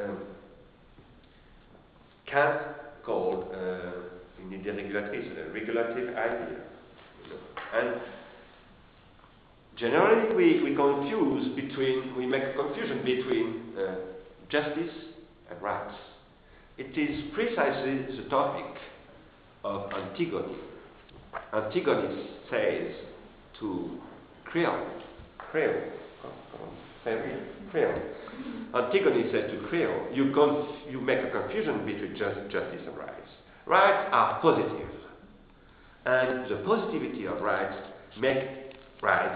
Kant called une idée régulatrice, a regulative idea. And generally we make a confusion between justice and rights. It is precisely the topic of Antigone. Antigone says to Creon. Antigone said to Creon, you make a confusion between justice and rights. Rights are positive, and the positivity of rights make rights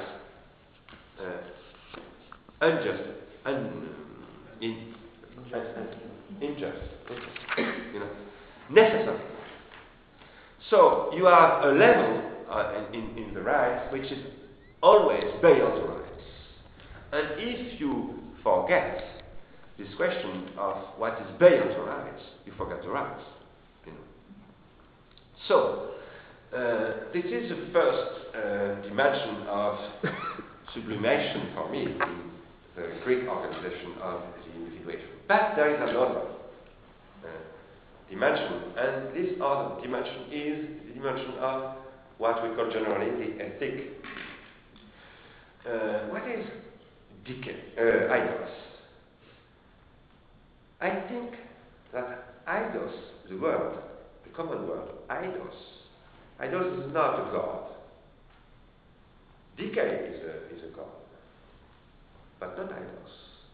unjust, necessary. So you have a level in the rights which is always beyond the rights. And if you forget this question of what is beyond the rights, you forget the rights. You know. So, this is the first dimension of sublimation for me in the Greek organization of the individuation. But there is another dimension, and this other dimension is the dimension of what we call generally the ethic. What is eidos? I think that eidos, the word, the common word, eidos is not a god. Decay is a god, but not eidos.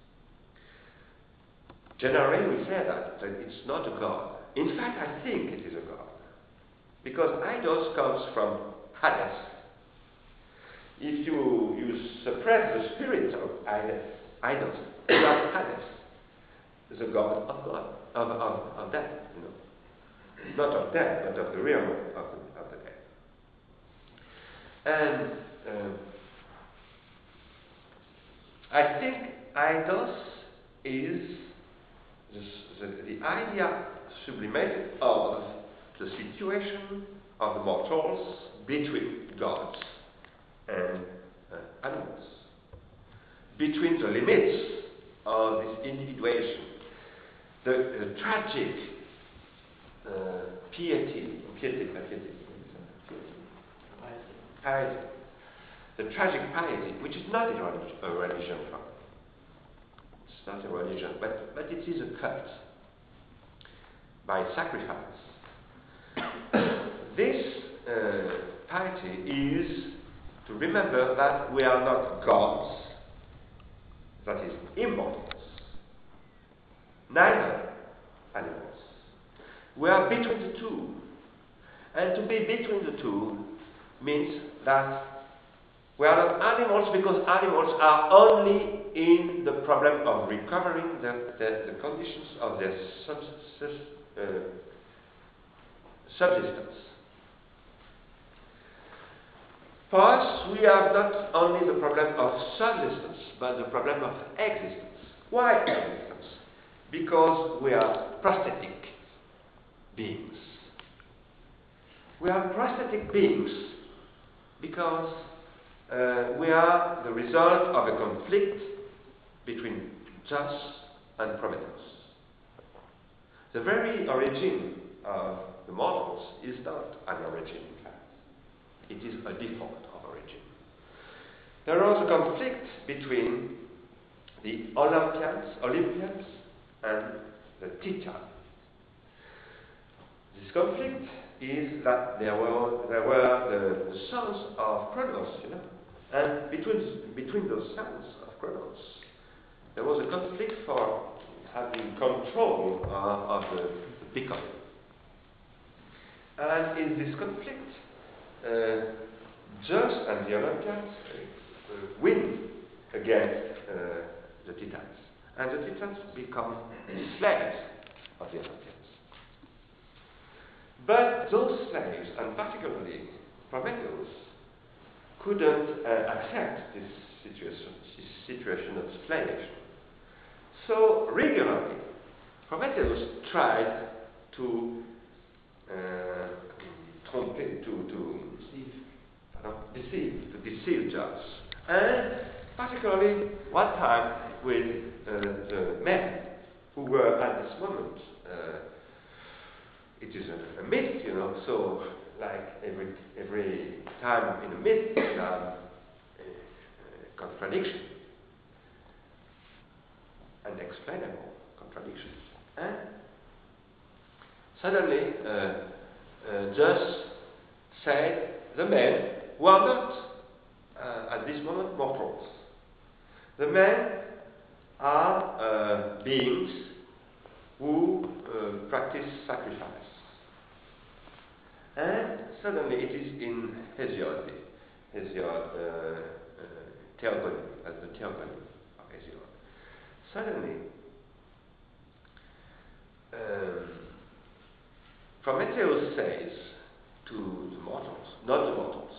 Generally, we say that it's not a god. In fact, I think it is a god, because eidos comes from Hades. If you suppress the spirit of eidos, you have Hades, the god of death, you know. Not of death, but of the realm of the dead. And I think eidos is the idea sublimated of the situation of the mortals between gods and animals, between the limits of this individuation, the tragic piety, the tragic piety, which is not a religion, it's not a religion, but it is a cult by sacrifice. This piety is to remember that we are not gods, that is, immortals, neither animals. We are between the two. And to be between the two means that we are not animals, because animals are only in the problem of recovering the conditions of their subsistence. For us, we have not only the problem of subsistence, but the problem of existence. Why existence? Because we are prosthetic beings. We are prosthetic beings because we are the result of a conflict between Zeus and Prometheus. The very origin of the mortals is not an origin, in fact. It is a default of origin. There was a conflict between the Olympians and the Titans. This conflict is that there were the sons of Kronos, you know, and between those sons of Kronos, there was a conflict for having control of the beacon. And in this conflict, Zeus and the Olympians win against the Titans, and the Titans become slaves of the Olympians. But those slaves, and particularly Prometheus, couldn't accept this situation of slaviship. So regularly, Prometheus tried to deceive Zeus, and particularly one time with the men who were at this moment. It is a myth, you know, so like every time in a myth you have a contradiction, an explainable contradiction. And suddenly Zeus said, the men who are not at this moment mortals, the men are beings who practice sacrifice. And suddenly it is in Hesiod, Theogony, as the Theogony of Hesiod. Suddenly, Prometheus says to the mortals, not the mortals,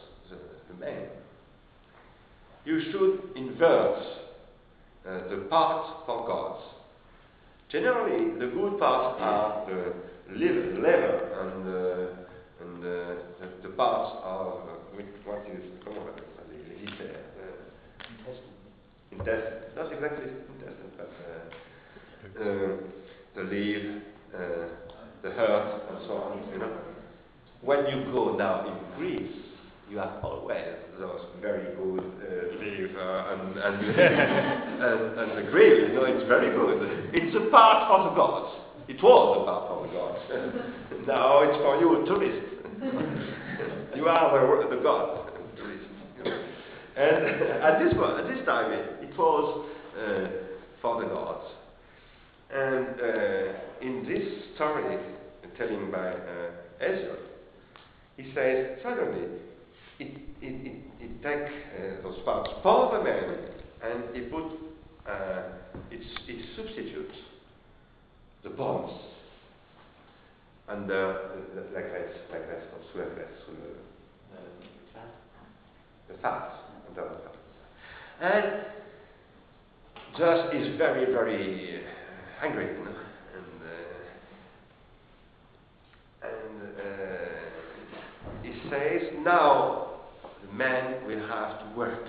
you should invert the parts for gods. Generally, the good parts are the liver and the parts are what is called intestine. Not exactly intestine, but the liver, the heart, and so on. You know, when you go now in Greece, you have always those very good liver and the grill. You know, it's very good. It's a part for the gods. It was a part for the gods. Now it's for you, tourists. You are the god, tourists. And at this time, it was for the gods. And in this story, telling by Hesiod, he says suddenly it takes those parts for the man, and he put it substitutes the bones and the fat, and Zeus is very, very angry, you know? He says, now the man will have to work.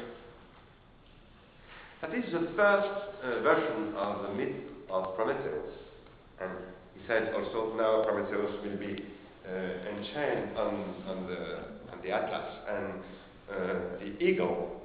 That is the first version of the myth of Prometheus. And he said also, now Prometheus will be enchained on the Atlas, and the eagle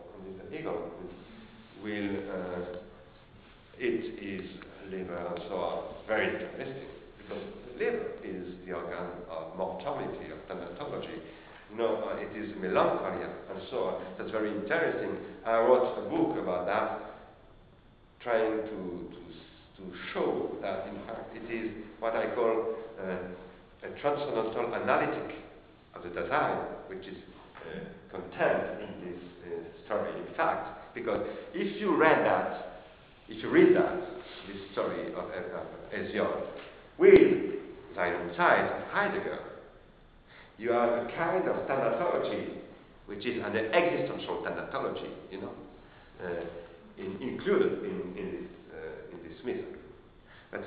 will eat his liver and so on. Very interesting, because the liver is the organ of mortality, of thanatology. It is melancholy and so on. That's very interesting. I wrote a book about that, trying to show that in fact it is what I call a transcendental analytic of the design, which is contained in this story. In fact, because if you read that, this story of Hesiod, with Alongside of Heidegger, you have a kind of thanatology, which is an existential thanatology, included in this myth. It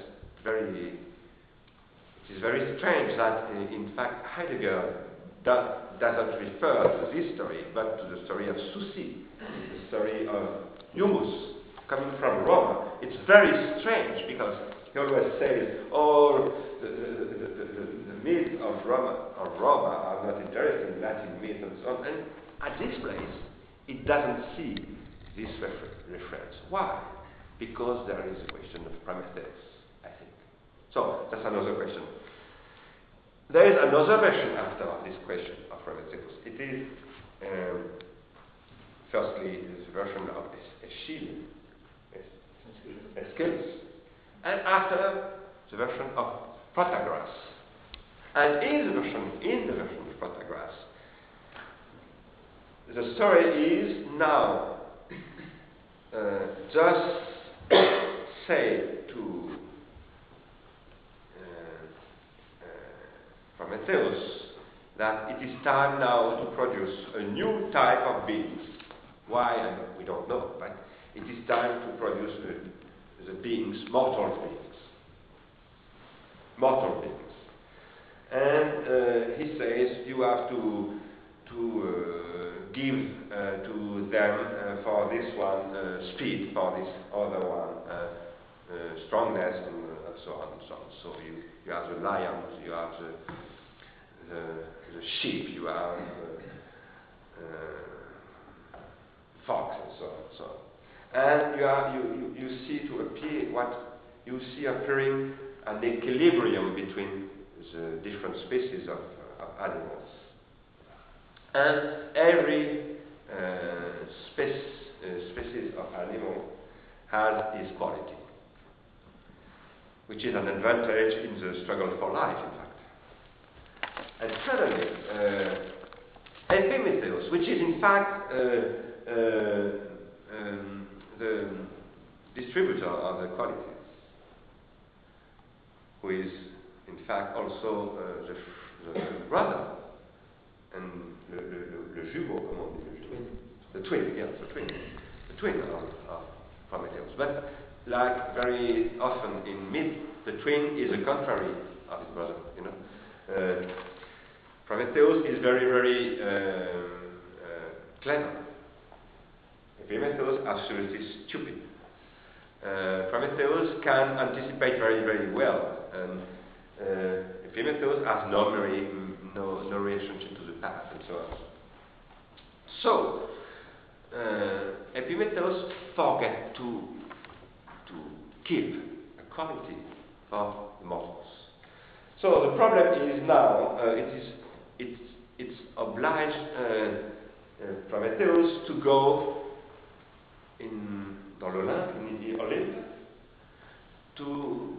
is very strange that, in fact, Heidegger doesn't refer to this story, but to the story of Susi, the story of Humus, coming from Roma. It's very strange, because he always says, the myths of Roma are not interesting, Latin myths and so on. And at this place, it doesn't see this reference. Why? Because there is a question of Prometheus, I think. So, that's another question. There is another version after this question of Prometheus. It is, firstly, this version of Aeschylus, Aeschylus, and after the version of Protagoras. And in the version of Protagoras, the story is now just say to Prometheus that it is time now to produce a new type of beings. Why? We don't know, but it is time to produce the beings, mortal beings. And he says you have to give to them for this one speed, for this other one strongness, and so on and so on. So you have the lions, you have the sheep, you have fox, and so on and so on. And you see to appear what you see appearing an equilibrium between the different species of animals. And every species of animal has its quality, which is an advantage in the struggle for life, in fact. And suddenly, Epimetheus, which is in fact the distributor of the qualities, who is in fact also the brother and le jumeau, comment on dit, the twin, yes, the twin. twin of Prometheus. But like very often in myth, the twin is the contrary of his brother. Prometheus is very, very clever. Epimetheus absolutely stupid. Prometheus can anticipate very, very well, and Epimetheus has no memory, no relationship to the past, and so on. So Epimetheus forget to keep a quality for the mortals. So the problem is now it's obliged Prometheus to go dans l'Olympe, in the Olympe, to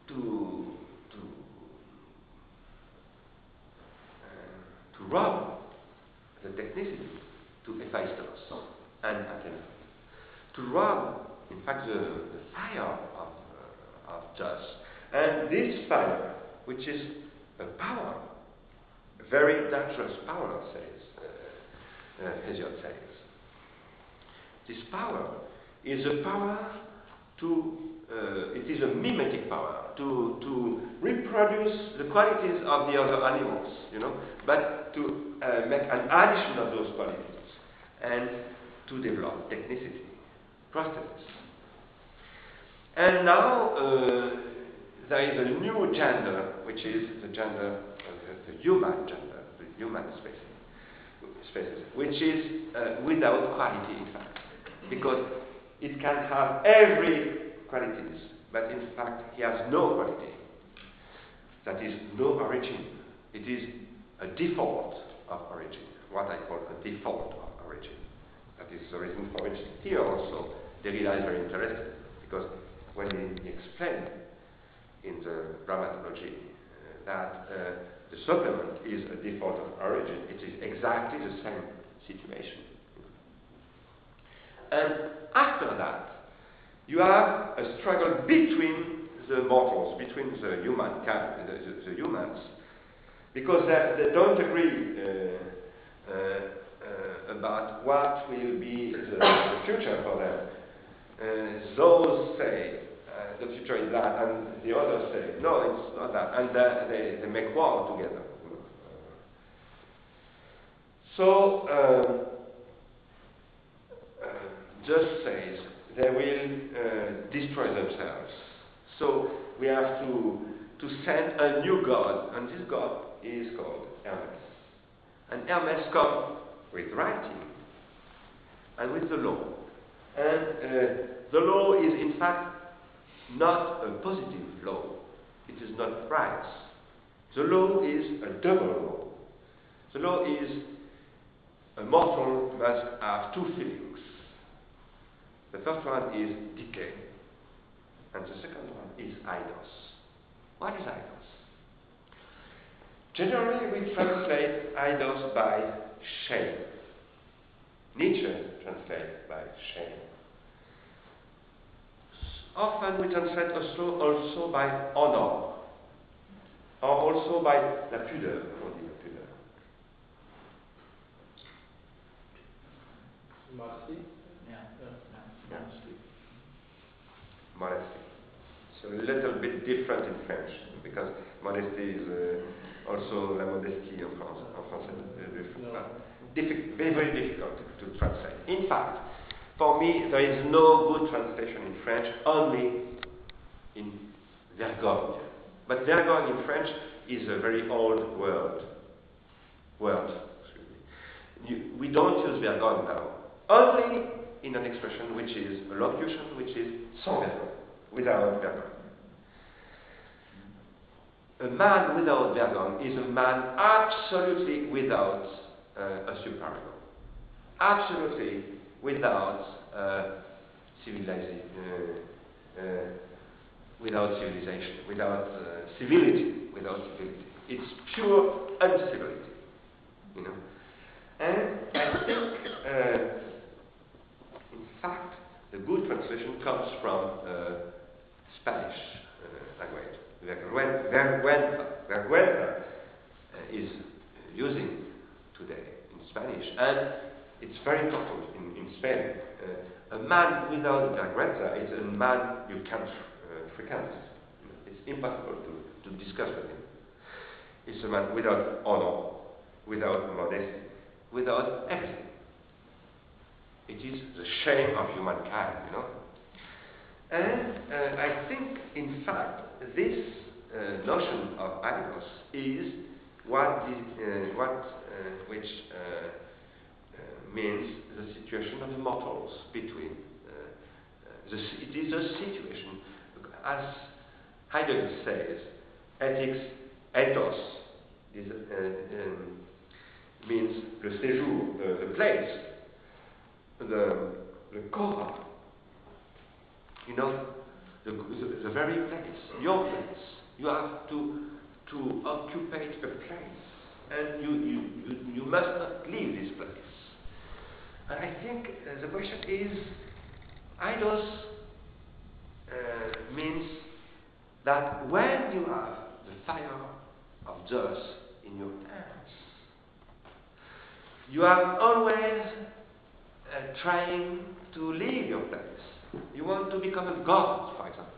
rob the technicity to Hephaestus and Athena, to rob, in fact, the fire of Zeus. And this fire, which is a power, a very dangerous power, says Hesiod says. This power is a power it is a mimetic power to reproduce the qualities of the other animals, but to make an addition of those qualities and to develop technicity, prosthesis. And now there is a new gender, which is the gender, the human gender, the human species, which is without quality, in fact, because it can have every qualities, but in fact he has no quality. That is no origin. It is a default of origin, what I call a default of origin. That is the reason for which here also Derrida is very interested, because when he explained in the Grammatology that the supplement is a default of origin, it is exactly the same situation. And after that, you have a struggle between the mortals, between the the humans, because they don't agree about what will be the future for them. Those say the future is that, and the others say no, it's not that, and they make war together. So Zeus says they will destroy themselves. So we have to send a new god, and this god is called Hermes. And Hermes comes with writing and with the law. And the law is in fact not a positive law. It is not right. The law is a double law. The law is a mortal must have two feelings. The first one is decay, and the second one is eidos. What is eidos? Generally, we translate eidos by shame. Nietzsche translates by shame. Often we translate also by honor, or also by la pudeur, on dit la pudeur. Modesty? Modesty. So a little bit different in French, because modesty is also la modestie en français. Very, very difficult to translate. In fact, for me, there is no good translation in French, only in vergogne. But vergogne in French is a very old word. We don't use vergogne now. Only in an expression which is a locution, which is sans vergogne, without vergogne. A man without vergogne is a man absolutely without a superego. Absolutely without civilization, without civility. It's pure uncivility, And I think, in fact, the good translation comes from Spanish language. Vergüenza is using today in Spanish, and it's very important in Spain. A man without a grandeur is a man you can't frequent. It's impossible to discuss with him. It's a man without honor, without modesty, without everything. It is the shame of humankind, you know. And I think, in fact, this notion of idols is which means the situation of the mortals between. It is a situation, as Heidegger says, ethics, ethos, means le séjour, the place, the core, you know, the very place, your place. You have to occupy a place, and you must not leave this place. And I think the question is, idols means that when you have the fire of Zeus in your hands, you are always trying to leave your place. You want to become a god, for example.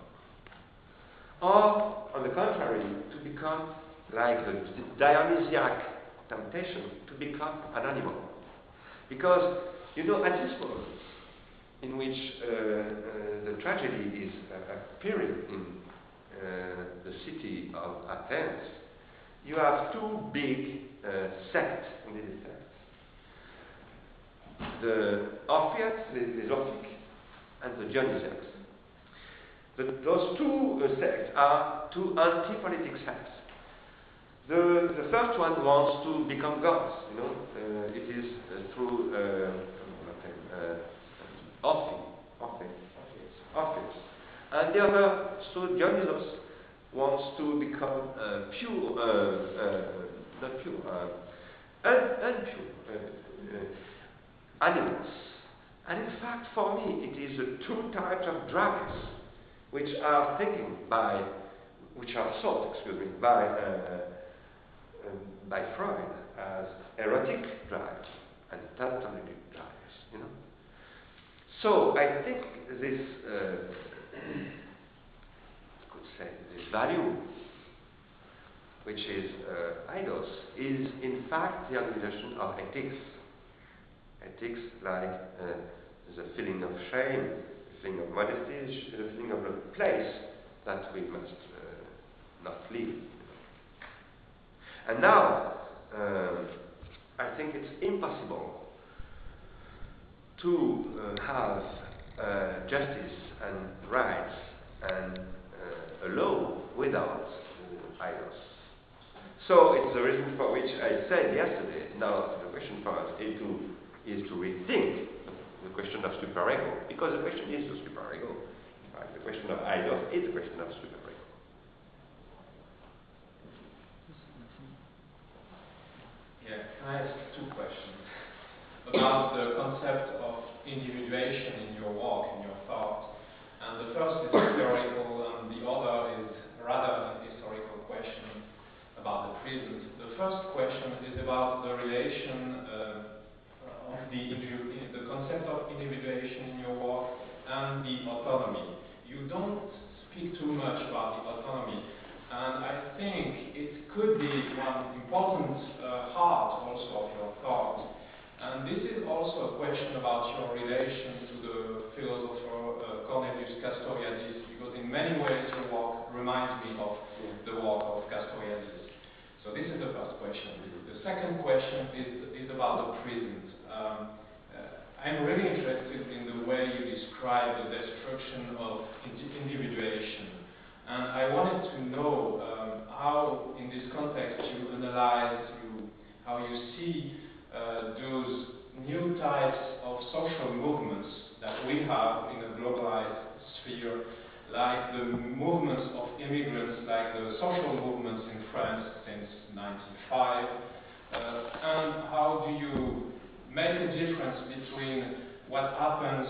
Or, on the contrary, to become like a Dionysiac temptation, to become an animal. Because, you know, at this moment, in which the tragedy is appearing in the city of Athens, you have two big sects in this sect. The Orphiacs, les Orphiques, and the Dionysiacs. Those two sects are two anti-politic sects. The first one wants to become gods, you know. It is through Orpheus. And the other, so Dionysos, wants to become animals. And in fact, for me, it is the two types of drugs which are thought by Freud as erotic drugs and platonic drugs, you know. So I think this, this value, which is idols, is in fact the organization of ethics. Ethics like the feeling of shame, the feeling of modesty, the feeling of a place that we must not leave. And now, I think it's impossible to have justice and rights and a law without idols. So it's the reason for which I said yesterday, now the question for us is to rethink the question of superego, because the question is the superego. In fact, the question of idols is the question of superego. Yeah, can I ask two questions about the concept of individuation in your work, in your thought? And the first is theoretical, and the other is rather a historical question about the present. The first question is about the relation of the concept of individuation in your work and the autonomy. You don't speak too much about the autonomy, and I think it could be one important part also of your thought. And this is also a question about your relation to the philosopher Cornelius Castoriadis, because in many ways your work reminds me of the work of Castoriadis. So this is the first question. The second question is about the present. I'm really interested in the way you describe the destruction of individuation. And I wanted to know how, in this context, you analyze, how you see those new types of social movements that we have in a globalized sphere, like the movements of immigrants, like the social movements in France since 1995, and how do you make a difference between what happens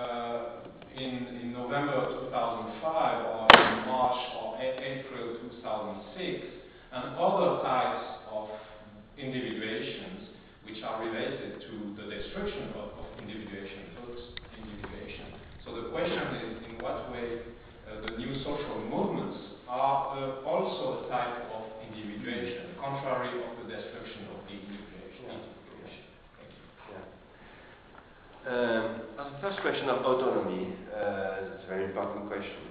in November 2005 or in March or April 2006 and other types of individuations which are related to the destruction of individuation, those individuations. first question of autonomy, it's a very important question.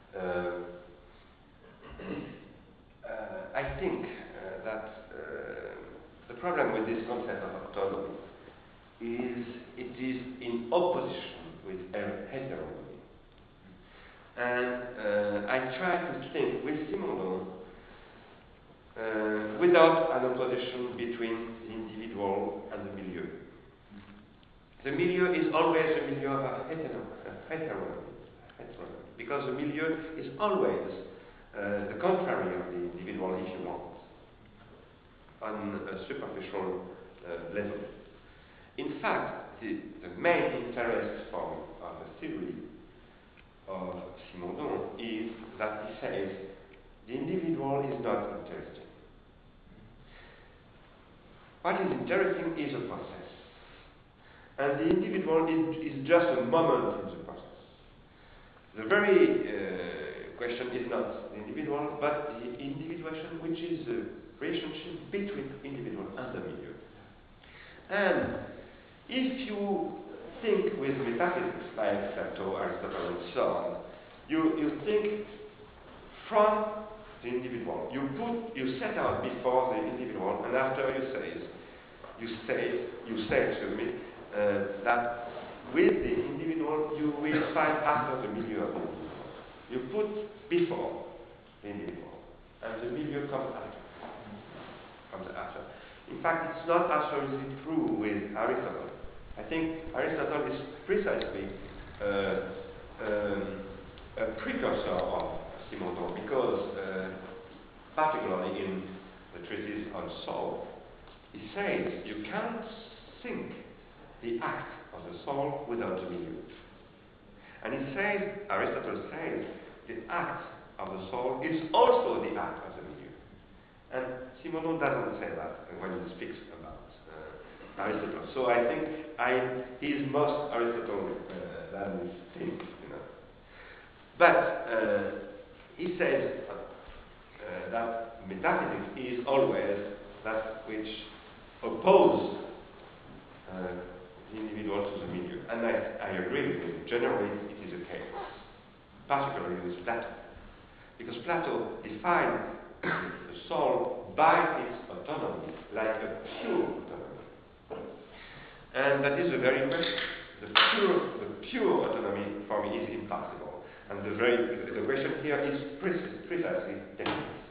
I think that the problem with this concept of autonomy is it is in opposition with heteronomy. And I try to think with Simondon without an opposition between the individual and the milieu. The milieu is always a milieu of heteronomy, because the milieu is always the contrary of the individual, if you want, on a superficial level. In fact, the main interest of the theory of Simondon is that he says the individual is not interesting. What is interesting is a process. And the individual is just a moment in the process. The very question is not the individual, but the individuation, which is the relationship between individual and the milieu. And if you think with metaphysics like Plato, Aristotle, and so on, you think from the individual. You set out before the individual, and after you say that with the individual you will find after the milieu of the individual. You put before the individual, and the milieu comes after. In fact, it's not absolutely true with Aristotle. I think Aristotle is precisely a precursor of Simondon, because particularly in the treatise on soul, he says you can't think the act of the soul without the milieu. And he says, Aristotle says, the act of the soul is also the act of the milieu. And Simondon doesn't say that when he speaks about Aristotle. So I think he is most Aristotle than we think, you know. But he says that metaphysics is always that which opposes the individual to the milieu. And I agree with him. Generally, it is the case, particularly with Plato. Because Plato defined the soul by its autonomy, like a pure autonomy. And that is the very question. The pure autonomy for me is impossible. And the question here is precisely this.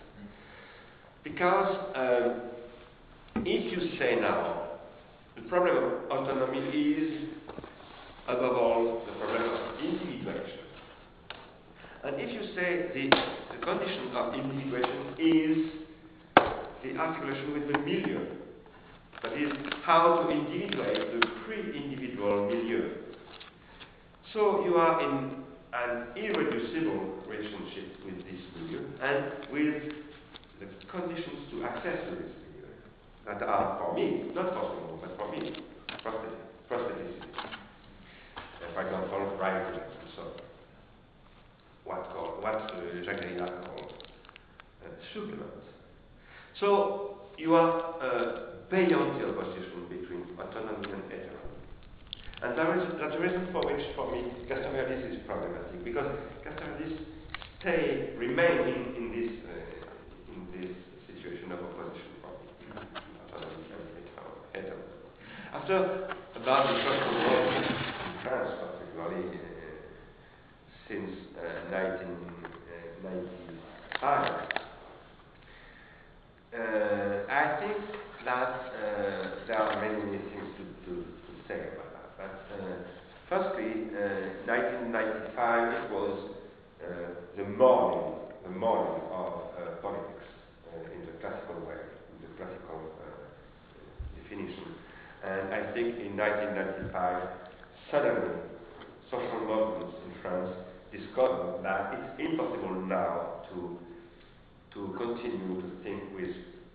Because if you say now, the problem of autonomy is, above all, the problem of individuation. And if you say the condition of individuation is the articulation with the milieu, that is, how to individuate the pre-individual milieu. So you are in an irreducible relationship with this milieu and with the conditions to access to this milieu that are, for me, not for Simondon, but for me, prostheticity. For example, writing, so what Jacques Derrida called supplements. So you are beyond the opposition between autonomy and heteronomy. And that's the reason for which, for me, Castoriadis is problematic, because Castoriadis remain in this situation of opposition for me, autonomy and heteronomy. After about the First World War in France, particularly since 1995, I think that there are many things to say about that. But firstly, 1995 it was the morning of politics in the classical way, in the classical definition. And I think in 1995, suddenly, social movements in France discovered that it's impossible now to continue to think with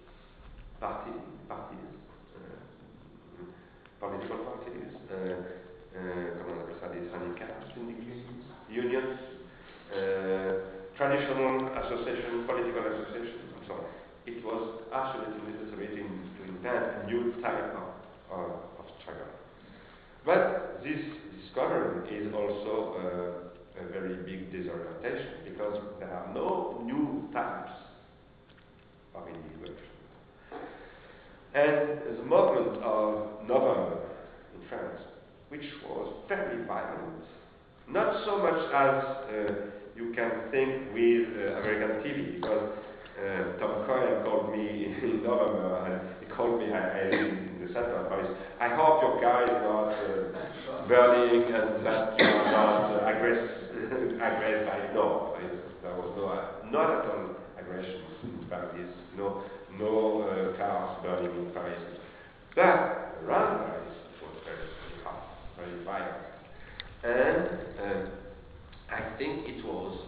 political parties, comment on appelle ça, des syndicats, unions, traditional associations, political associations, and so on. It was absolutely necessary to invent a new type of struggle. But this discovering is also a very big disorientation, because there are no new types of individuation. And the movement of November in France, which was very violent, not so much as you can think with American TV, because Tom Cohen called me in November, and he called me, I live in the center of Paris, I hope your car is not burning and that you are not aggressive. No, there was not at all aggression in Paris, no cars burning in Paris. But around Paris it was very hot, very violent. And I think it was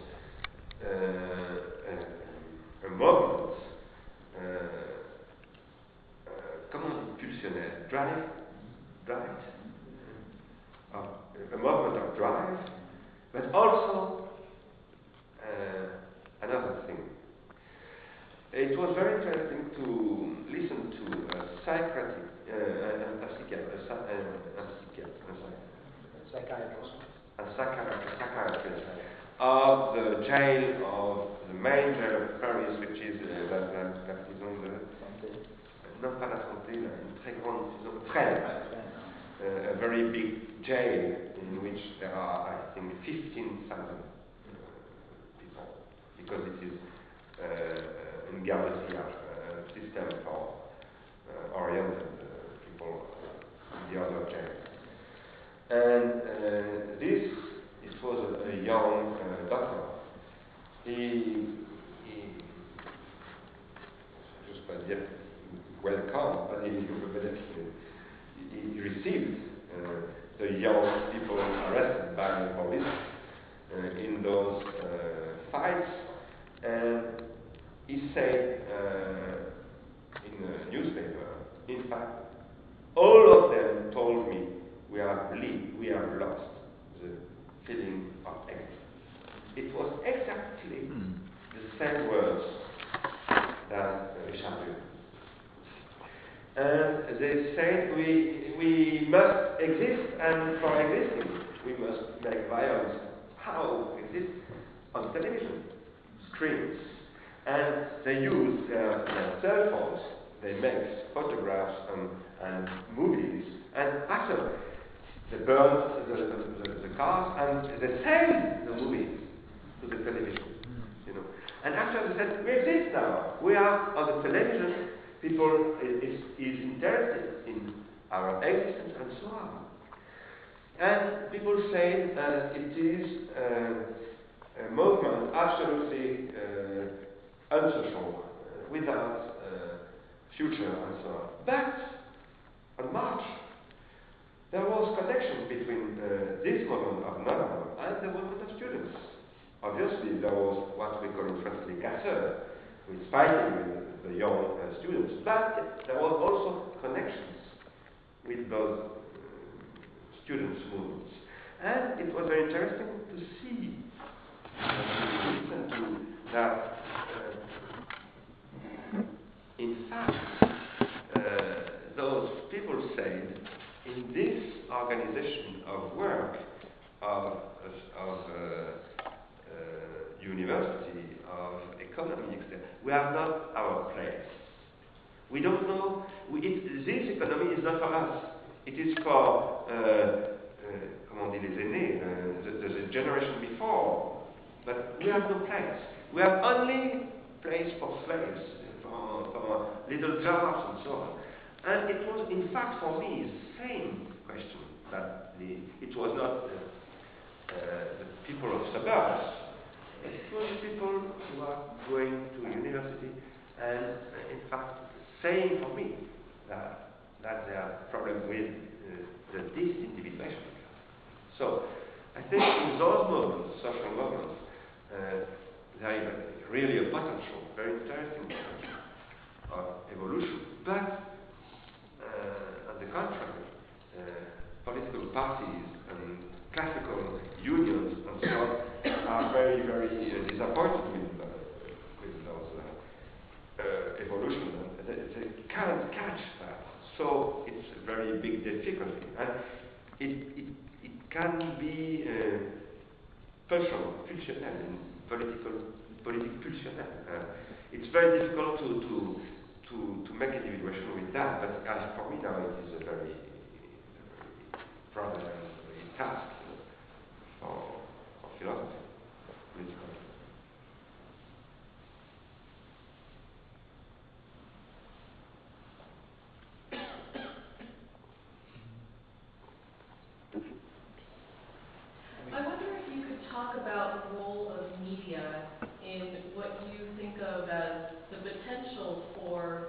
a moment, comment on dit pulsionnel, drive, a movement of drive, but also another thing. It was very interesting to listen to a psychiatrist of the jail of the main jail of Paris, which is la prison de non pas la Santé, une très grande prison, Fresnes, a very big jail in which there are, I think, 15,000 people, because it is in Gare de Triage, system for oriented people in the other jail. And it was a young doctor. He just pas dire welcome, but he received the young people arrested by the police in those fights, and he said in a newspaper, in fact, all of them told me we have lost the feeling of existence. It was exactly the same words that Richard Buhr. And they said we must exist, and for existing we must make violence. How exist? On television screens. And they use their cell phones, they make photographs and movies, and after they burn the cars and they sell the movies to the television. And after they said, we exist now, we are on the television, people is interested in our existence and so on. And people say it is a movement absolutely unsocial, without future and so on. But on March, there was connection between this movement of November and the movement of students. Obviously, there was what we call in France les casseurs, who is fighting with the young students, but there was also connections with those students' movements. And it was very interesting to see, to listen to that, in fact, those people said, in this organization of work, of university, of economy, etc., we are not our place. We don't know, this economy is not for us. It is for, comment on dit, les aînés, the generation before. But we have no place. We have only place for slaves, for little jobs and so on. And it was, in fact, for me, the same question, that it was not the people of suburbs, but it was people who are going to university, and in fact, saying for me that they have problem with the disindividuation. So, I think in those moments, social moments, there is really a potential, very interesting potential of evolution. But on the contrary, political parties and classical unions and so on are very, very disappointed with those evolution. They can't catch that. So it's a very big difficulty. And it can be pulsional in politic pulsional. It's very difficult to make individuation with that, but as for me now it is a very problem, a task for philosophy, political. I wonder if you could talk about the role of media in what you think of as the potential for,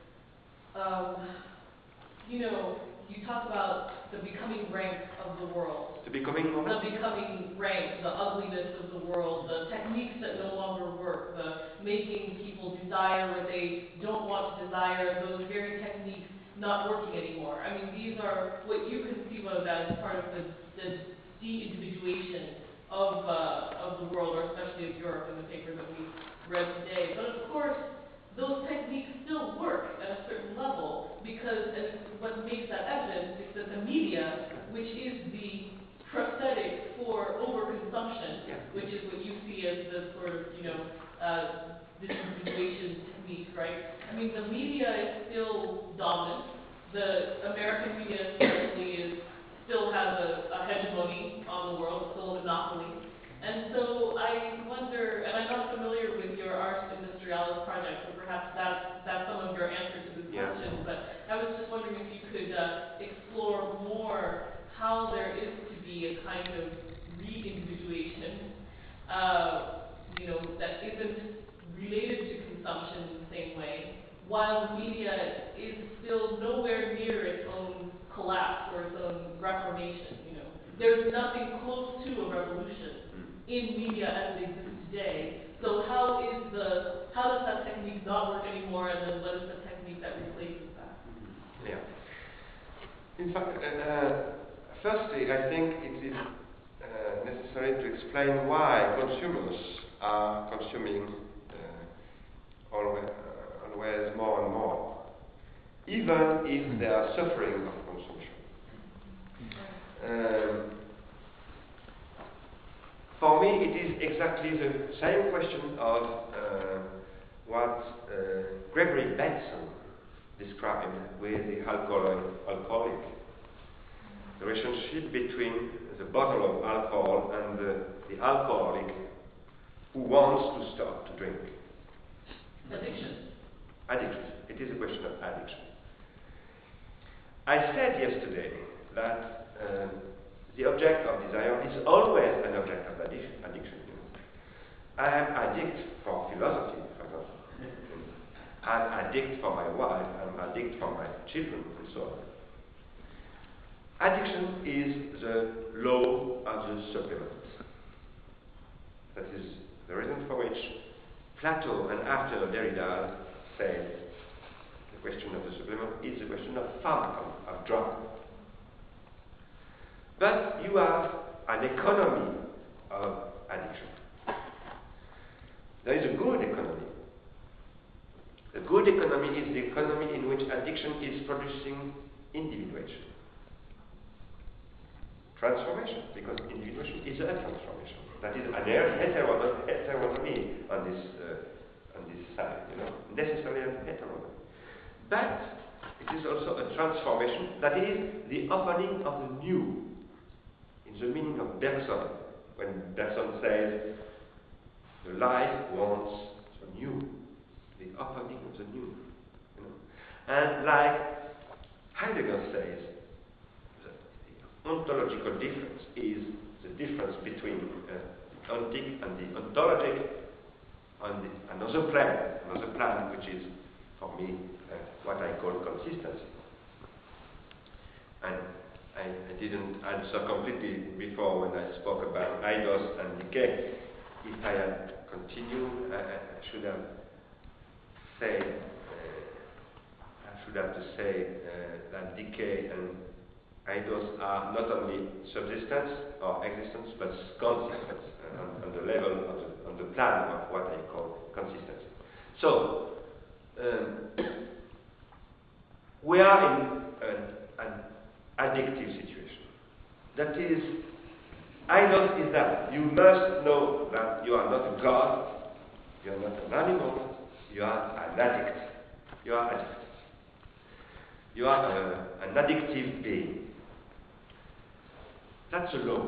you talk about the becoming rank of the world. The becoming rank, the ugliness of the world, the techniques that no longer work, the making people desire what they don't want to desire, those very techniques not working anymore. I mean, these are what you conceive of as part of the de-individuation of the world, or especially of Europe in the paper that we read today. But of course, those techniques still work at a certain level because, and what makes that evident is that the media, which is the prosthetic for overconsumption, which is what you see as the sort of, disindividuation technique, right? I mean, the media is still dominant. The American media especially still has a hegemony on the world, still a monopoly. And so I wonder, and I'm not familiar with your Ars Industrialis project, so perhaps that's some of your answer to this question, but I was just wondering if you could explore more how there is to be a kind of re-individuation, that isn't related to consumption in the same way, while the media is still nowhere near its own collapse or its own reformation. There's nothing close to a revolution in media as it exists today. So how does that technique not work anymore, and then what is the technique that replaces that? Yeah. In fact, firstly, I think it is necessary to explain why consumers are consuming always more and more, even if they are suffering of consumption. For me, it is exactly the same question of what Gregory Bateson described with the alcoholic. The relationship between the bottle of alcohol and the alcoholic who wants to stop to drink. Addiction. It is a question of addiction. I said yesterday that the object of desire is always an object of addiction. I am addict for philosophy, for example. I'm addict for my wife, I'm addict for my children, and so on. Addiction is the law of the supplement. That is the reason for which Plato and after Derrida said the question of the supplement is the question of pharmacon, of drug. But you have an economy of addiction. There is a good economy. The good economy is the economy in which addiction is producing individuation. Transformation, because individuation is a transformation. That is an heteronomy on this side, necessarily a heteronomy. But it is also a transformation that is the opening of the new. In the meaning of Bergson, when Bergson says the life wants the new, the opening of the new. And like Heidegger says, the ontological difference is the difference between the ontic and the ontologic on another plan which is, for me, what I call consistency. And I didn't answer completely before when I spoke about eidos and decay. If I had continued, I should have said, that decay and eidos are not only subsistence or existence, but consistence on the level on the plan of what I call consistency. So we are in an addictive situation. That is Idols is that you must know that you are not a god, you are not an animal, you are an addict. You are addicted. You are an addictive being. That's a law.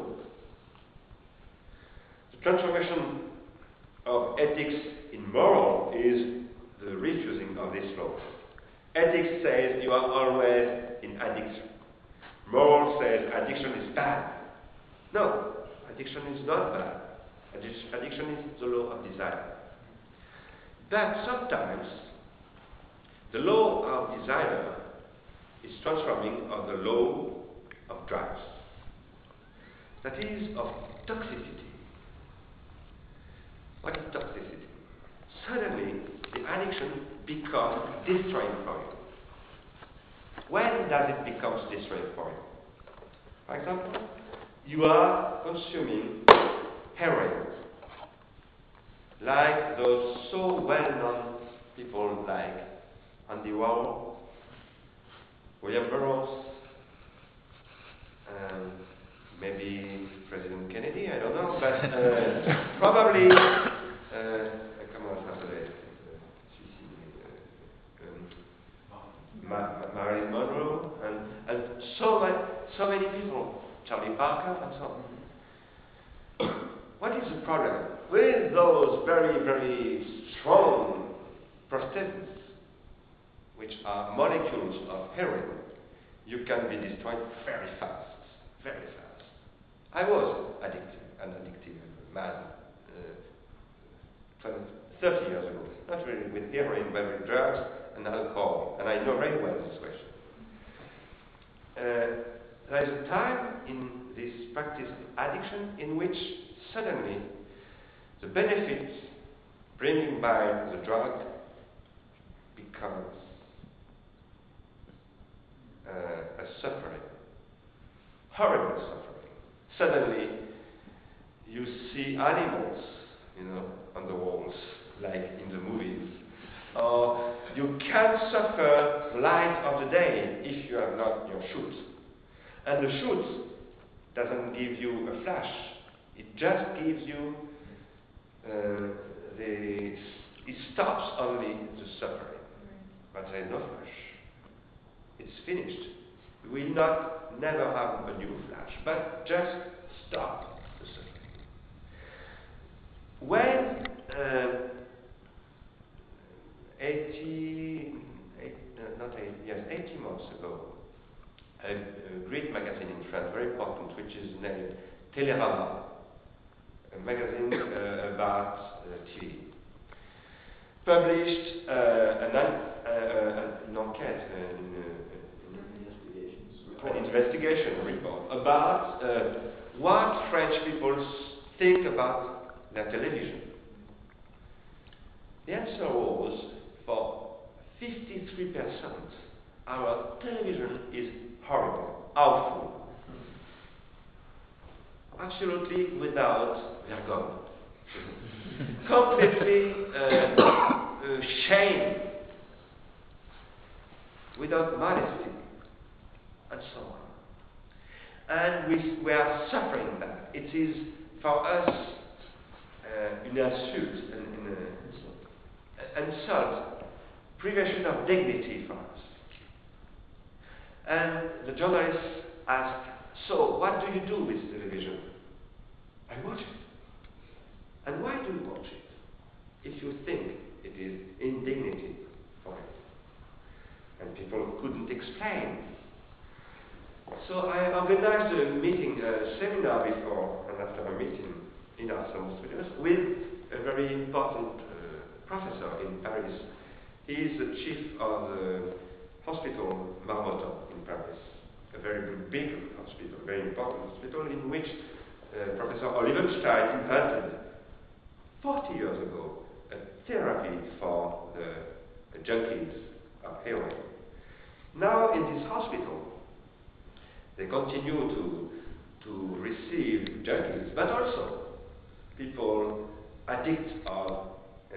The transformation of ethics in moral is the refusing of this law. Ethics says you are always in addiction. Moral says addiction is bad. No, addiction is not bad. Addiction is the law of desire. But sometimes the law of desire is transforming of the law of drugs. That is of toxicity. What is toxicity? Suddenly, the addiction becomes destroying for you. When does it become destroying for you? For example, you are consuming heroin, like those so well-known people like Andy Warhol, William Burroughs, maybe President Kennedy, I don't know, but probably, comment ça s'appelait, Marilyn Monroe, and so many people, Charlie Parker, and so on. What is the problem? With those very, very strong prosthetics, which are molecules of heroin, you can be destroyed very fast, very fast. I was an addictive man 30 years ago, not really with heroin, but with drugs and alcohol, and I know very well this question. There is a time in this practice of addiction in which suddenly the benefits bringing by the drug becomes a suffering, horrible suffering. Suddenly you see animals, on the walls, like in the movies. Or you can suffer the light of the day if you have not your shoot. And the shoot doesn't give you a flash. It just gives you it stops only the suffering. But there is no flash. It's finished. We will never have a new flash, but just stop the suffering. When 80 months ago, a great magazine in France, very important, which is named Télérama, a magazine about TV, published an enquête, an investigation report about what French people think about their television. The answer was, for 53%, our television is horrible, awful, absolutely without jargon, completely shame, without modesty, and so on. And we are suffering that. It is for us an insult, an insult, privation of dignity for us. And the journalists ask, so what do you do with television? I watch it. And why do you watch it? If you think it is indignity for you. And people couldn't explain. So I organized a meeting, a seminar before and after a meeting in Arsenal Studios with a very important professor in Paris. He is the chief of the hospital Marmottan in Paris, a very big hospital, very important hospital in which Professor Olivenstein invented 40 years ago a therapy for the junkies of heroin. Now in this hospital, they continue to receive junkies, but also people addicted of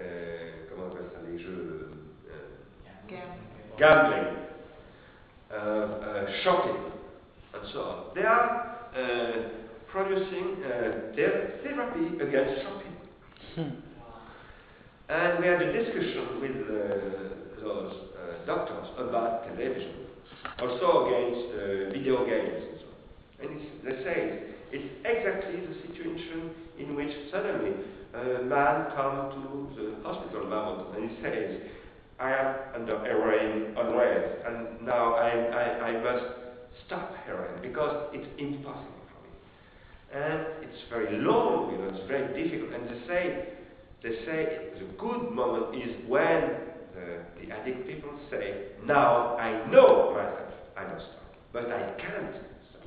gambling, shopping, and so on. They are producing therapy against shopping. And we had a discussion with those doctors about television, also against video games and so on. And they say it's exactly the situation in which suddenly a man comes to the hospital moment and he says, I am under heroin unrest, and now I must stop heroin because it's impossible for me. And it's very long, it's very difficult. And they say the good moment is when the addict people say, now I know myself, I must stop, but I can't stop.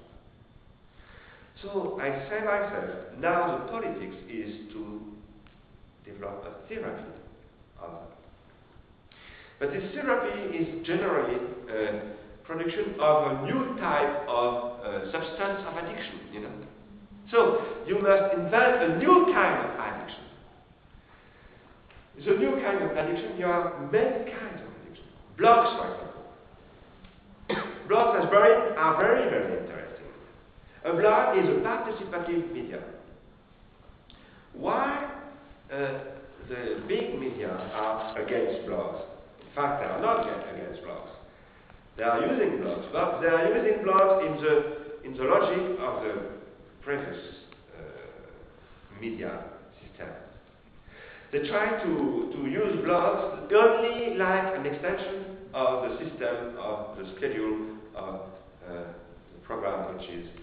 So I say myself, now the politics is to develop a therapy of that. But this therapy is generally production of a new type of substance of addiction, So you must invent a new kind of addiction. The new kind of addiction, you have many kinds of addiction. Blogs, for example. Blogs are very, very interesting. A blog is a participative media. Why the big media are against blogs? In fact, they are not against blogs. They are using blogs, but they are using blogs in the logic of the previous media system. They try to use blogs only like an extension of the system of the schedule of the program, which is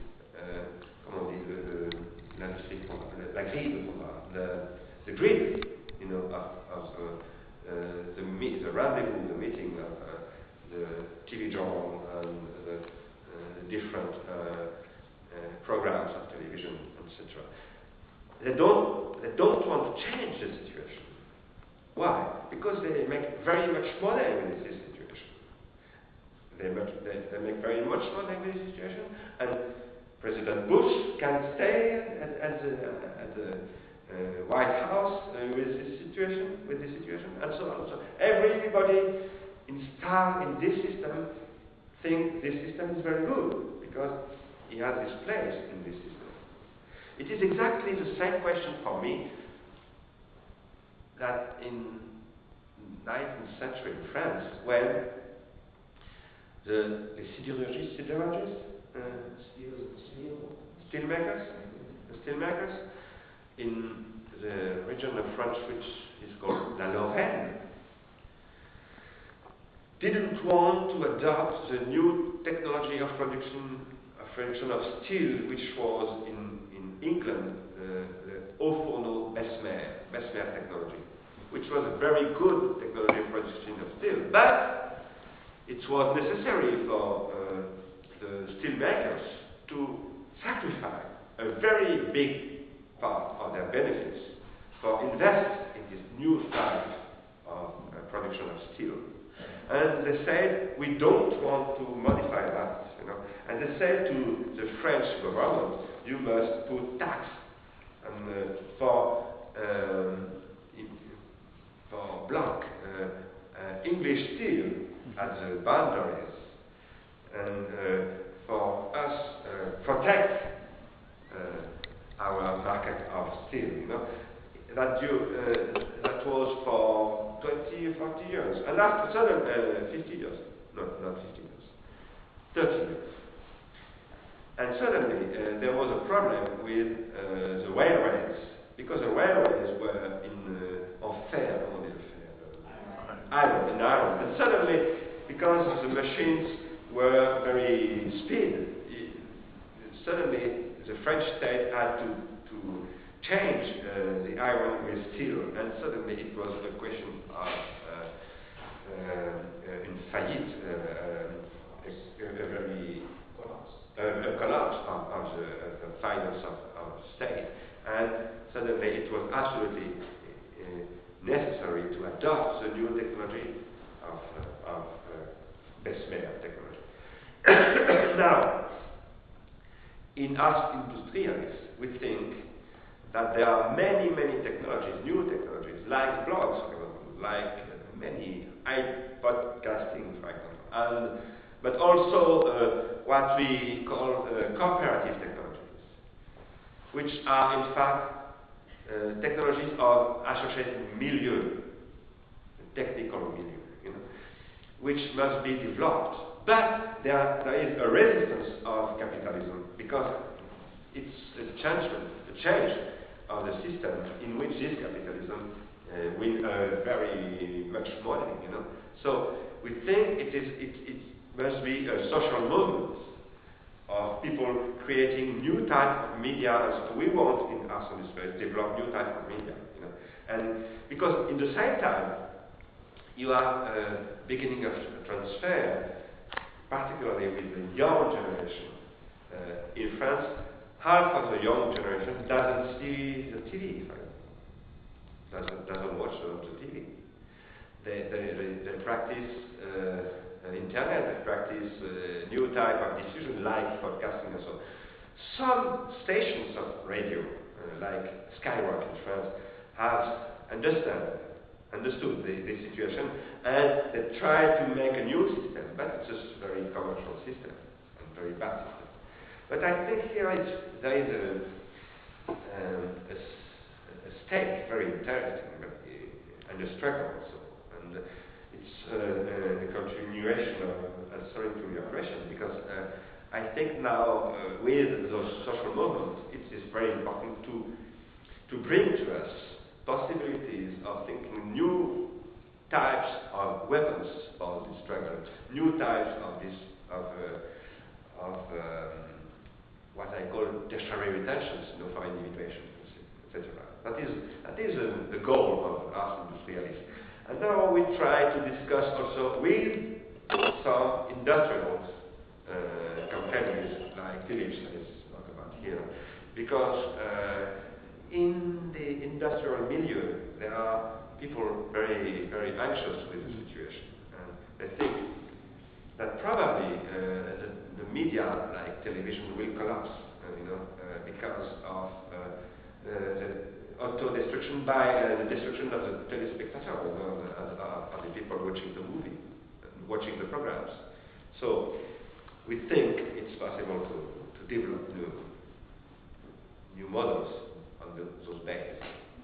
the grid, of the rendezvous, the meeting of the TV journal and the different programs of television, etc. They don't want to change the situation. Why? Because they make very much money with this situation. They make very much money with this situation, and President Bush can stay at the White House with this situation, and so on. So everybody installed in this system think this system is very good because he has his place in this system. It is exactly the same question for me that in 19th century in France, when the steelmakers in the region of France which is called La Lorraine didn't want to adopt the new technology of production of steel, which was in England the Haut-Fourneau-Bessemer technology, which was a very good technology for production of steel, but it was necessary for the steel makers to sacrifice a very big part of their benefits for invest in this new type of production of steel. And they said, we don't want to modify that, And they said to the French government, you must put tax for block English steel at the boundaries, and for us protect our market of steel. That was for 20 or 40 years, and after suddenly 50 years, no, not 50 years, 30 years. And suddenly there was a problem with the railways, because the railways were in iron. And suddenly, because the machines were very speed, suddenly the French state had to change the iron with steel, and suddenly it was a question of in faillite, a collapse of the finance of the state, and suddenly it was absolutely necessary to adopt the new technology of Bessemer technology. Now, in Ars Industrialis, we think that there are many technologies, new technologies, like blogs, for example, like many podcasting, for example, but also what we call cooperative technologies. which are in fact technologies of associated milieu, technical milieu, which must be developed. But there is a resistance of capitalism because it's a change of the system in which this capitalism will very much modeling, So we think it must be a social movement of people creating new type of media. So we want in Arts and Space develop new type of media, and because in the same time you are beginning of transfer, particularly with the young generation. In France, half of the young generation doesn't see the TV, doesn't watch the TV. They practice internet, they practice new type of diffusion like podcasting and so on. Some stations of radio, like Skyrock in France, have understood the situation, and they try to make a new system, but it's just a very commercial system and very bad system. But I think here there is a stake very interesting and a struggle also, and it's the continuation of answering to your question, because I think now with those social movements it is very important to bring to us possibilities of thinking new types of weapons for this struggle, new types of what I call tertiary retentions, for individuation, etc. That is the goal of Ars Industrialis. And now we try to discuss also with some industrial companies like Philips, I spoke about here, because in the industrial milieu, there are people very, very anxious with the situation, and they think that probably the media, like television, will collapse, because of the auto-destruction by the destruction of the telespectator, of the people watching the movie, watching the programs. So we think it's possible to develop new models on those bases.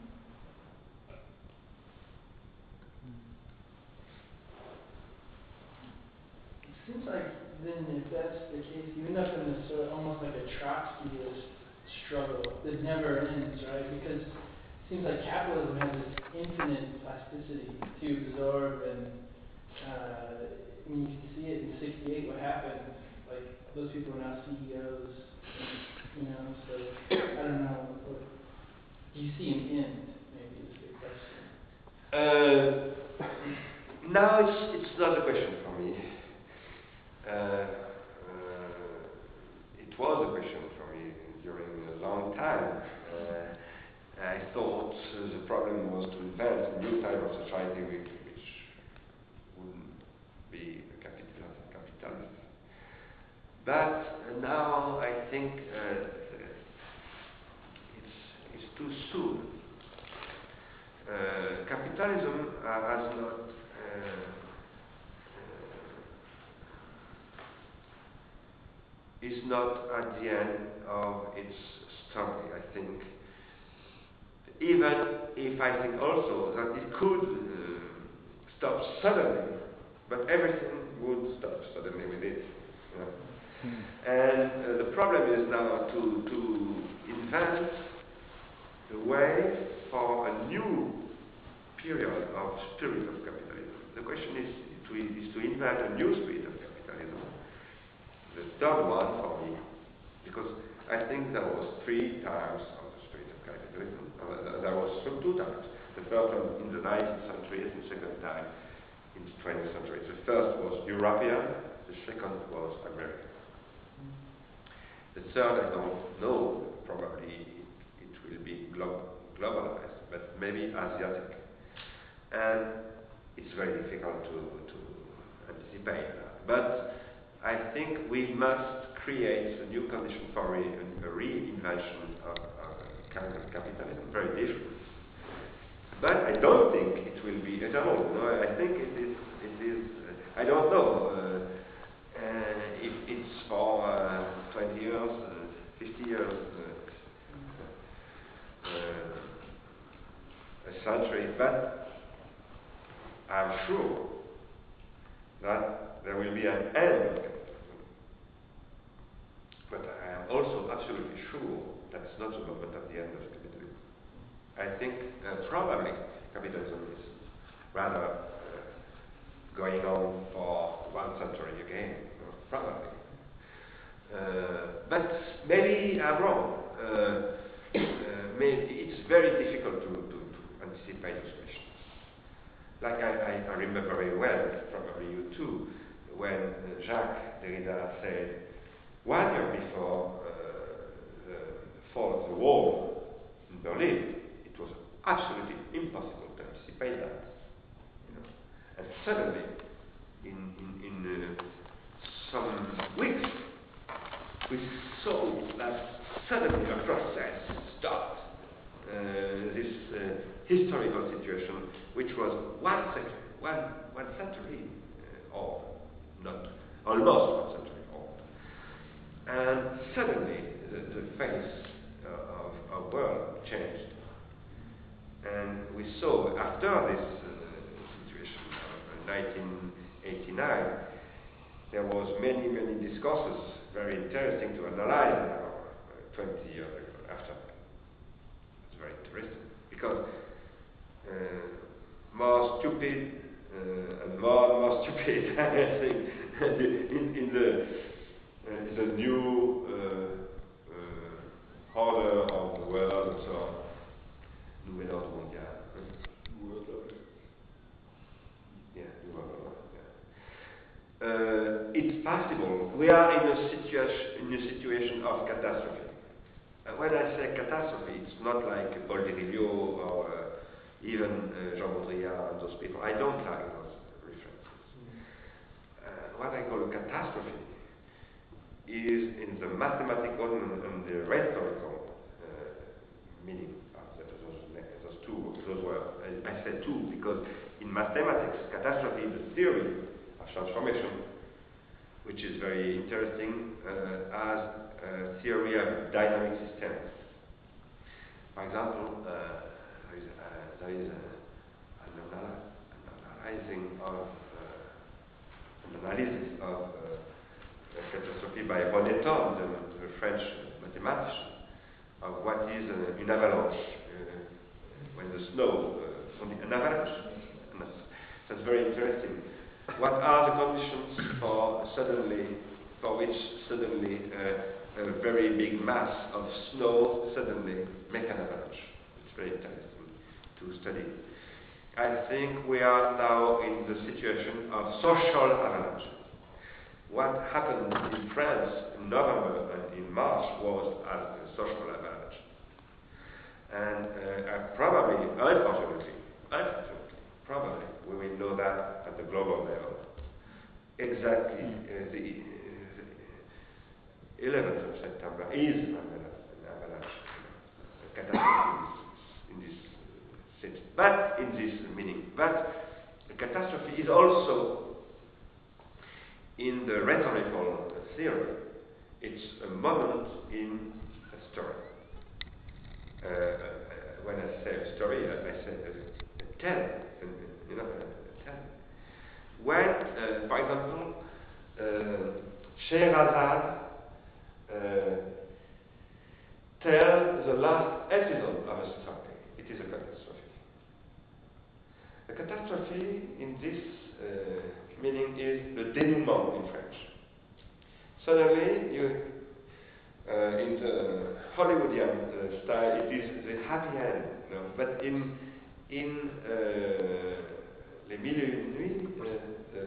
It seems like then, if that's the case, you end up in this almost like a Trotskyist struggle that never ends, right? Because it seems like capitalism has this infinite plasticity to absorb, and when you can see it in '68, what happened, like those people are now CEOs, and, so I don't know. Do you see an end? Maybe is the question. Now it's not a question for me. It was a question for me during a long time. I thought the problem was to invent a new type of society which wouldn't be capitalist. But now I think it's too soon. Capitalism has not is not at the end of its story, I think. Even if I think also that it could stop suddenly, but everything would stop suddenly with it. And the problem is now to invent the way for a new period of spirit of capitalism. The question is to invent a new spirit of capitalism. The third one for me, because I think there was 3 times of the spirit of capitalism. There was 2 times. The first one in the 19th century, and the second time in the 20th century. The first was European, the second was American. The third, I don't know, probably it will be globalized, but maybe Asiatic. And it's very difficult to anticipate that. But I think we must create a new condition for a reinvention of kind of capitalism, very different. But I don't think it will be eternal. I think it is. I don't know if it's for 20 years, 50 years. century, but I'm sure that there will be an end of capitalism. But I am also absolutely sure that's not the moment of the end of capitalism. I think probably capitalism is rather going on for 1 century again, probably. But maybe I'm wrong. Maybe it's very difficult to anticipate those questions. Like I remember very well, probably you too, when Jacques Derrida said 1 year before the fall of the wall in Berlin, it was absolutely impossible to anticipate that. And suddenly, in some weeks, we saw that suddenly a process stopped. This historical situation, which was 1 century old, not almost 1 century old, and suddenly the face of world changed, and we saw after this situation of 1989, there was many discourses very interesting to analyze now, 20 years after. It's very interesting because more stupid and more stupid, I think, in the new order of the world and so on. Nouvel ordre mondial. It's possible. We are in a situation of catastrophe. When I say catastrophe, it's not like Paul Virilio or even Jean Baudrillard and those people. I don't like those references. What I call a catastrophe is in the mathematical and the rhetorical meaning of those words. I said two because in mathematics, catastrophe is a theory of transformation, which is very interesting as a theory of dynamic systems. For example, there is an analysis of catastrophe by René Thom, the French mathematician, of what is an avalanche, when the snow, an avalanche. That's very interesting. What are the conditions for which suddenly a very big mass of snow suddenly make an avalanche? It's very interesting to study. I think we are now in the situation of social avalanche. What happened in France in November and in March was a social avalanche. And probably, unfortunately, probably we will know that at the global level. Exactly the 11th of September is an avalanche, a catastrophe in this sense, but in this meaning. But the catastrophe is also in the rhetorical theory. It's a moment in a story. When I say a story, I say a tale. A tale. When, for example, Scheherazade tells the last episode of a story, it is a catastrophe. A catastrophe in this meaning is the dénouement in French. Suddenly, in the Hollywoodian style, it is the happy end. No? But in Les Mille et Une Nuits,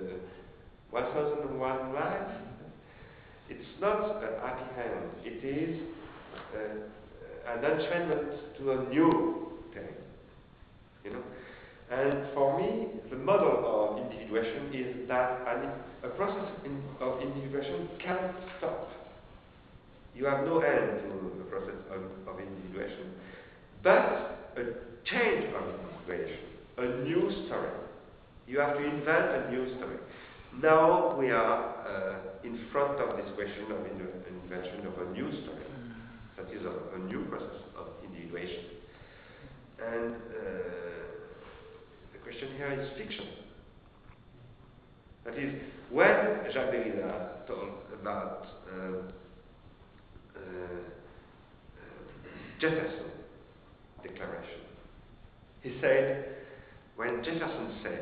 1001 Nights, it's not a happy end. It is an entrainment to a new thing. And for me, the model of individuation is that a process of individuation can't stop. You have no end to the process of individuation. But a change of individuation, a new story. You have to invent a new story. Now we are in front of this question of invention of a new story. That is a new process of individuation. And question here is fiction. That is, when Jacques Derrida talked about Jefferson Declaration, he said, when Jefferson said,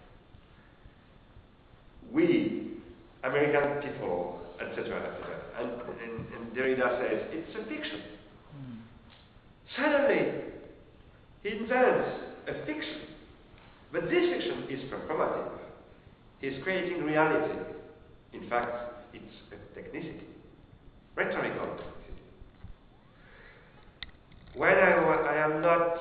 we, American people, etc., etc., and Derrida says, it's a fiction. Suddenly, he invents a fiction. But this fiction is performative. He's creating reality. In fact, it's a technicity, rhetorical technicity. When I am not,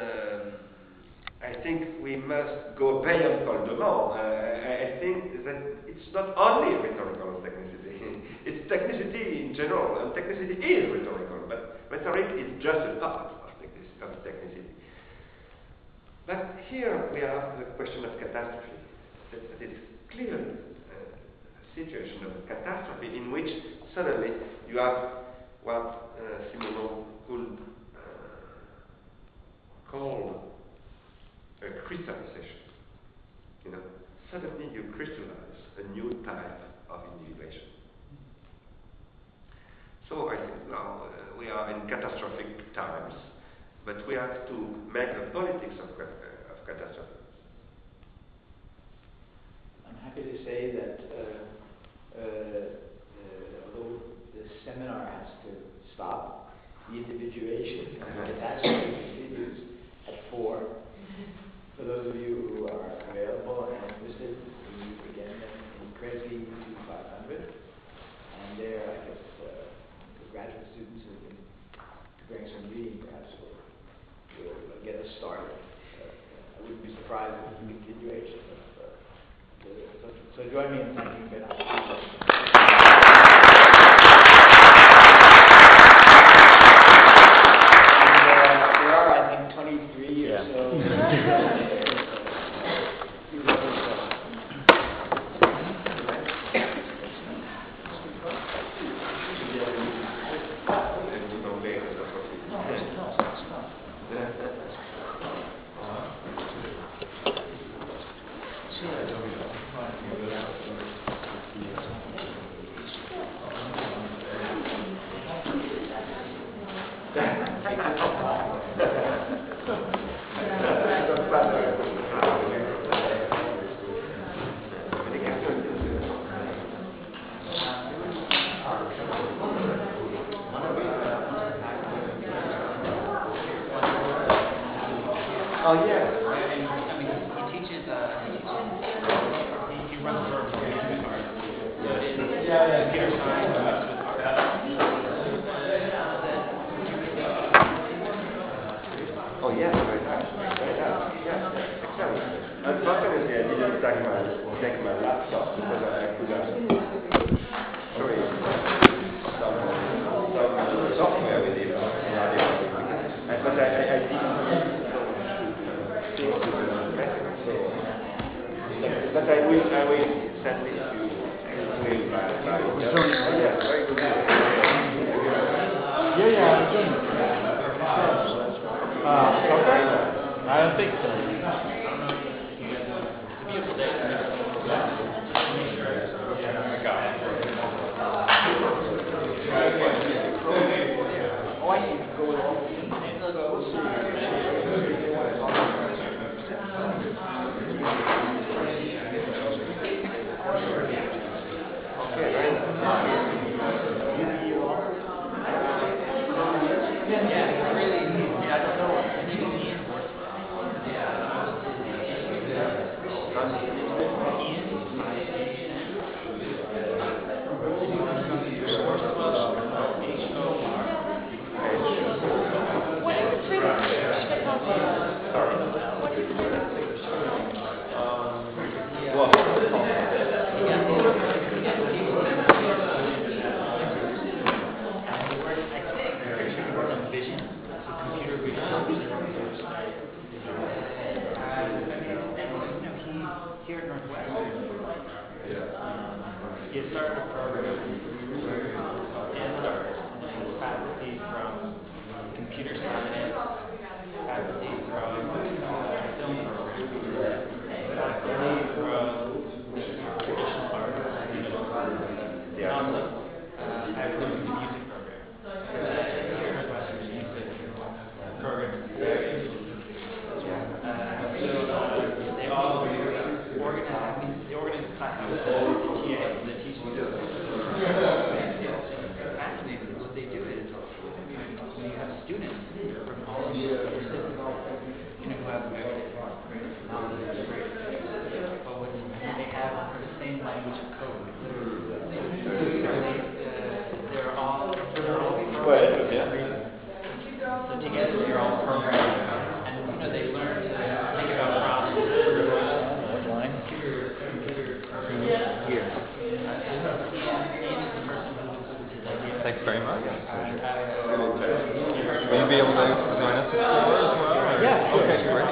I think we must go beyond Paul de Man. I think that it's not only rhetorical technicity. It's technicity in general, and technicity is rhetorical, but rhetoric is just a part of technicity. But here we have the question of catastrophe. That is clearly a situation of catastrophe in which suddenly you have what Simonon could call a crystallization. You know, suddenly you crystallize a new type of individuation. So I think now we are in catastrophic times, but we have to make the politics of catastrophe. I'm happy to say that although the seminar has to stop, the individuation of the catastrophe continues at 4. For those of you who are available and interested, we meet again in Kresge 2500. And there, I guess, the graduate students who have been preparing some reading perhaps will get us started. I wouldn't be surprised if the continuation of so join me in thanking Bernard. Oh, yeah. I mean, he teaches, he runs for computer science, Oh, yes, very nice. Yeah, excellent. Unfortunately, I didn't take my laptop because I could have show you some software with it. But I didn't. But I will send it to you by yeah, very good. Yeah, I'm doing it. Okay. I don't think so. beautiful day. I got it. Oh, I need to go along. Here at Northwestern, he started a program called NSTARS, and it was faculty from computer science, faculty from film program, the teaching fascinating. What they do is, when you have students from all over the system, who have knowledge of great, but when they have the same language of code, they're all programming. So together they're all programming, and they learn to think about problems. What line? Here. Thanks very much. Will you be able to join us at 4 as well? Yeah, sure. Okay, great.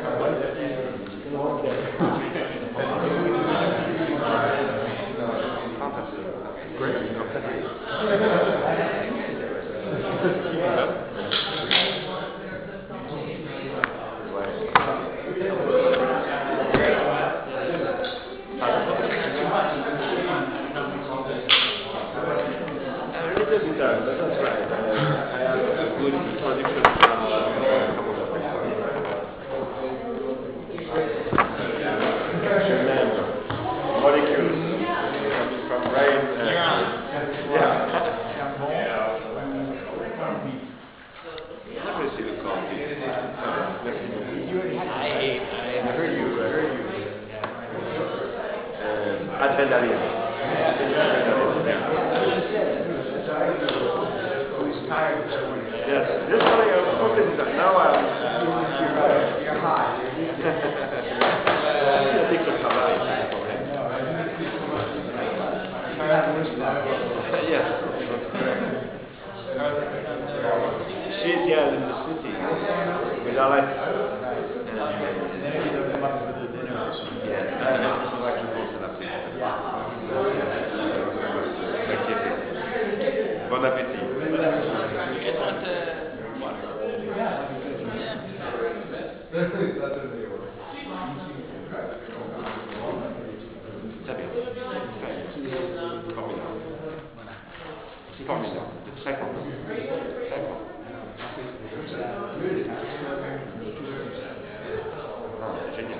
That's right. I have a good production from molecules coming from brain. Let me see the copy. I heard you. Adrenaline. Yes, this morning I was focusing on now you're high. I think it's high. Yes, she's here in the city with Alex. Bon appétit. Très bien. Formidable. Formidable. Très content. Très content. Ah, génial.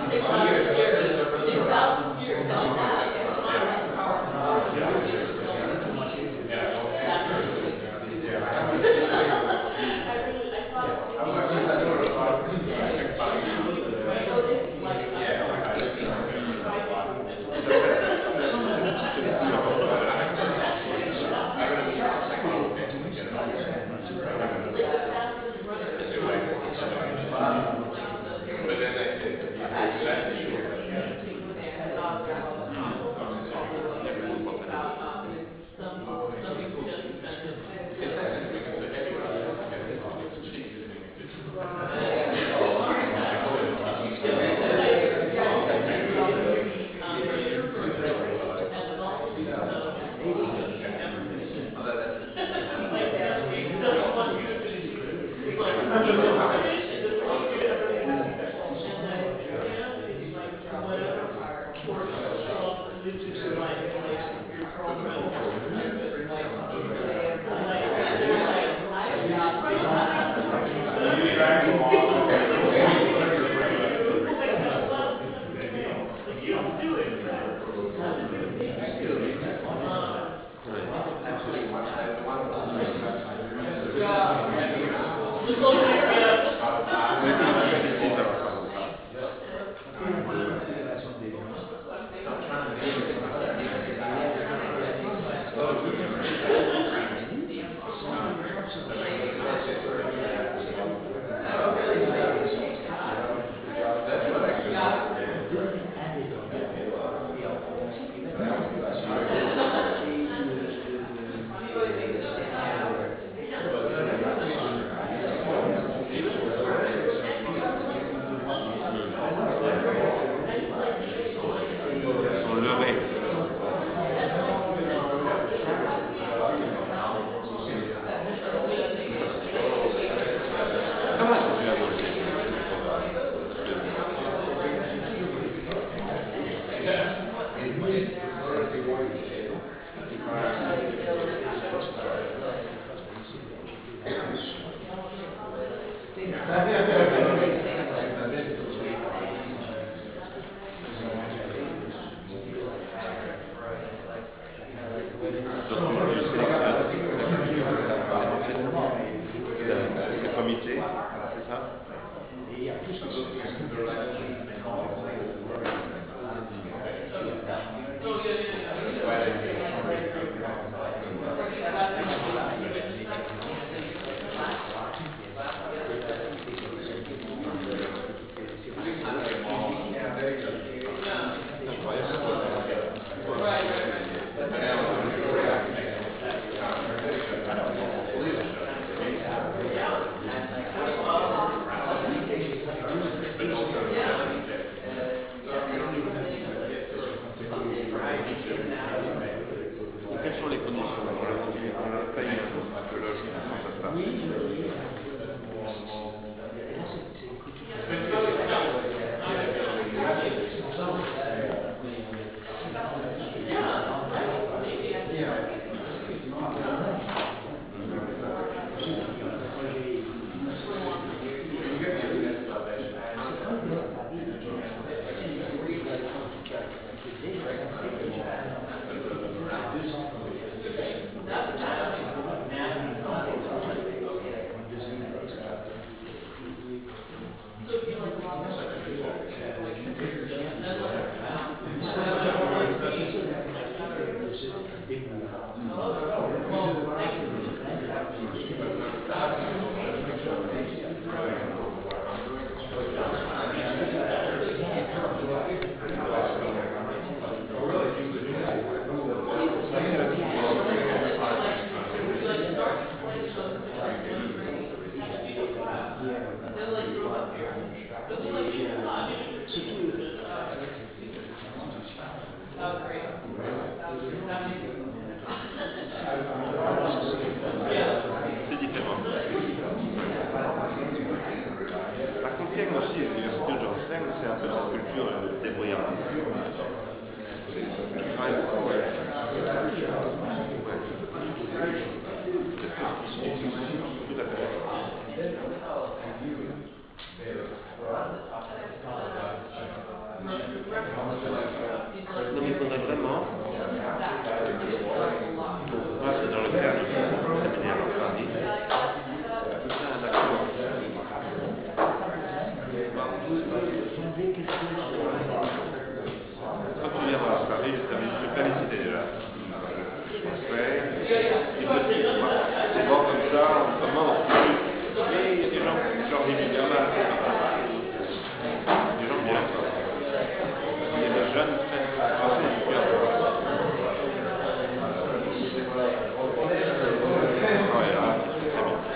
Tout à fait. Non, mais il faudrait vraiment, moi c'est dans le cadre du séminaire en Paris, tout ça un accord. Quand tu viendras à Paris, je t'avais cité déjà. Ouais, c'est bon comme ça, on commence. Mais il y a des gens qui ont envie de mal. Des gens bien. Il y a des jeunes très français qui viennent. Ouais, là, c'est très bien.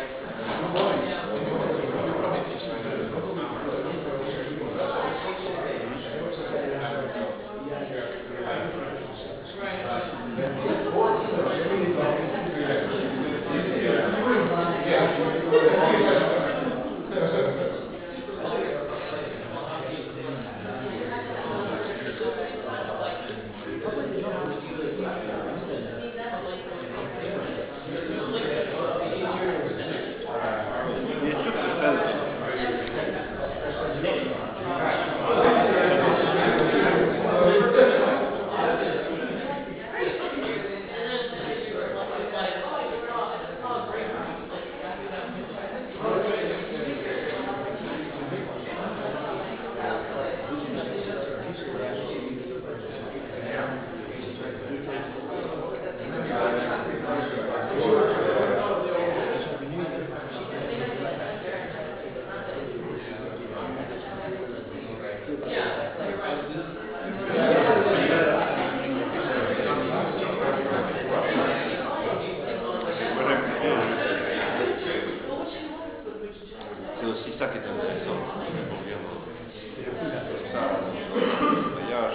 C'est aussi ça qui est intéressant. Ça, le voyage,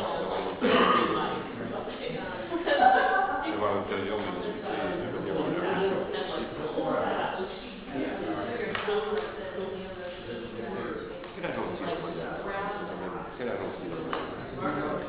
c'est avoir l'occasion de discuter de venir au C'est la gentille, je crois. C'est la gentille.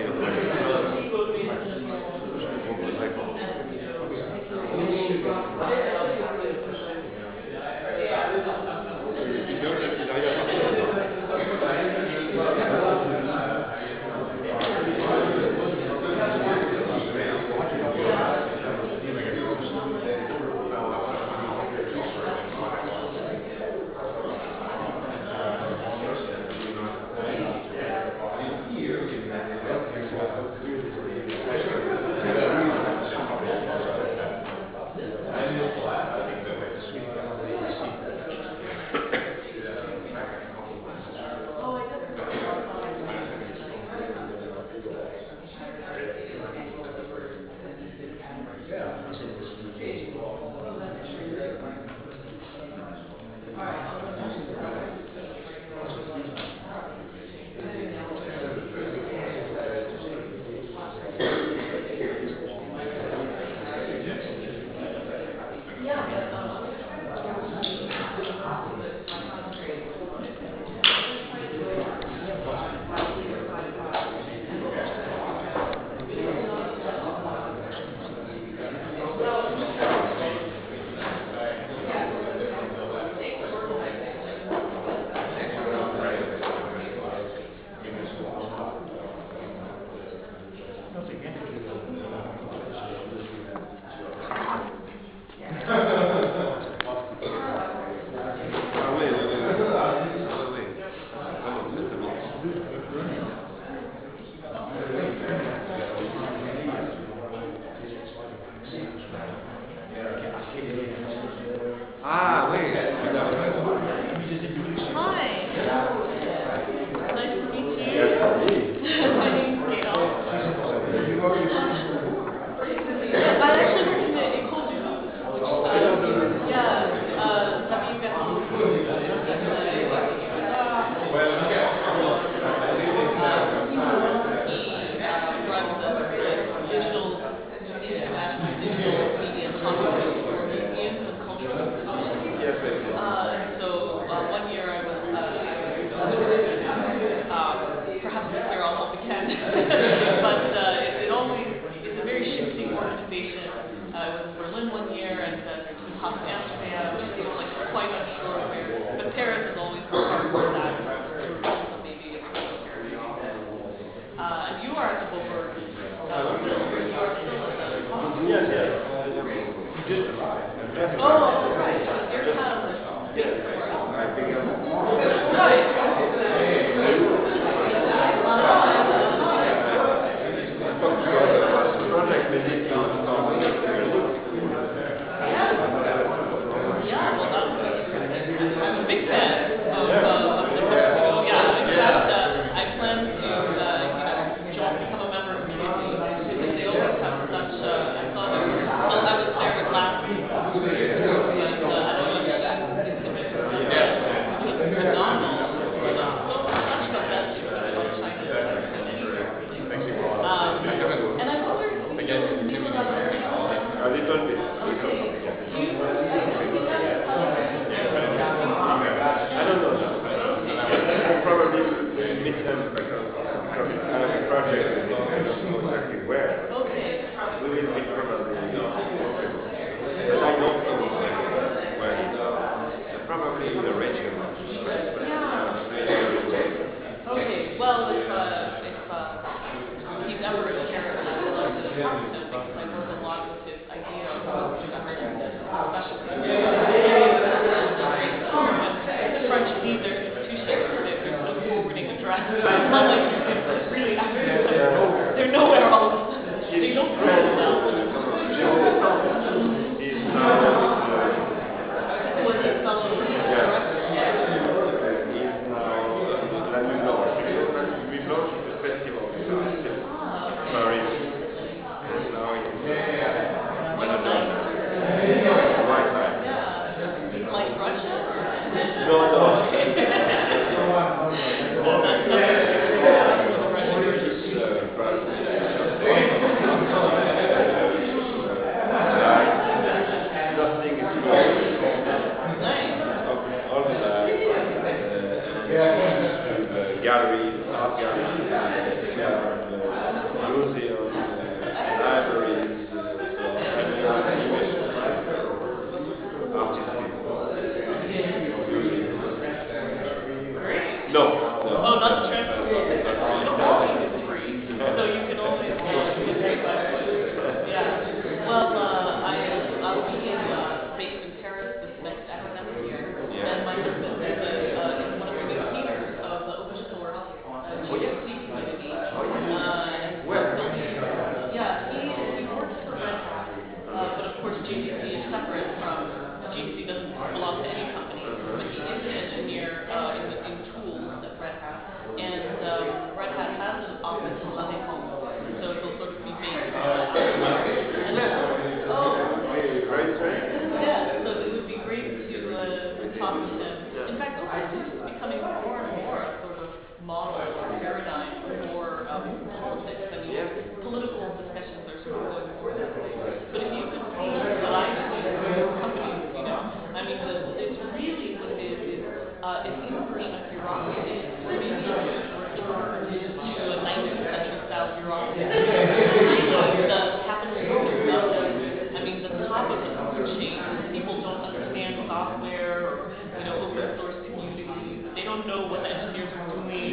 Paris, and now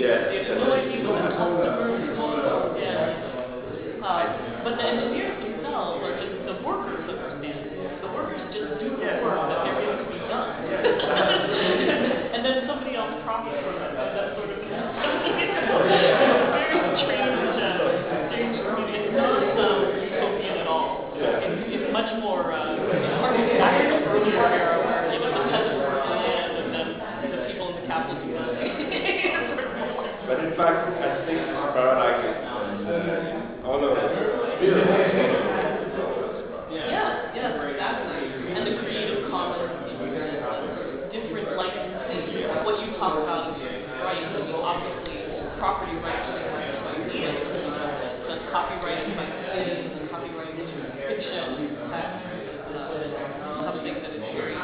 Yeah. They have no idea what the customers want. Yeah. But the engineers themselves are just the workers understand. The workers just do the work that they're getting to be done. And then somebody else profits from it, that sort of thing. Very strange community. It's not utopian at all. It's much more harkening back to the earlier era where, you know, the peasants work the land and then the people in the capital do nothing. But in fact, I think Paradise and all of Yes, exactly. And the Creative Commons, different licensing, what you talk about is right. I mean, obviously, property rights are ideas. But copyright by cities and copyright in fiction, text, something that is very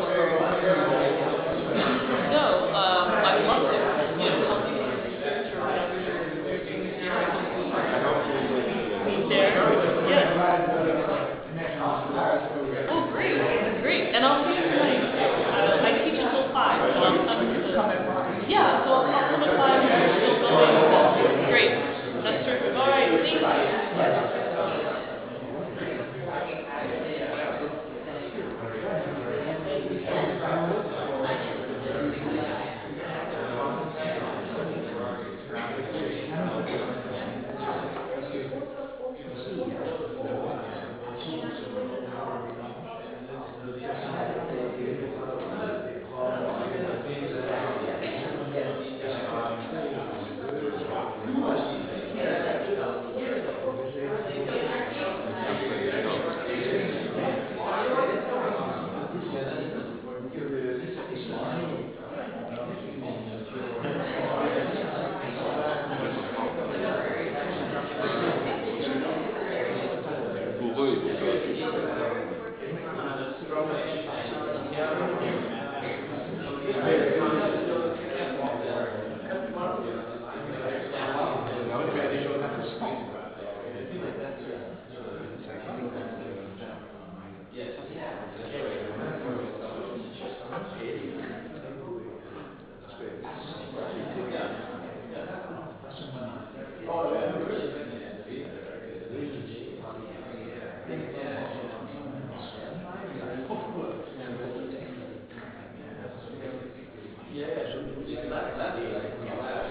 No, I loved it. You know, helping with research or whatever you're doing here. I can be there. Yes. Oh, great. And I'll see you tonight. I teach until 5, so I'll come to yeah, so I'll come at 5 and we'll go in. Great. That's terrific. All right, thank you.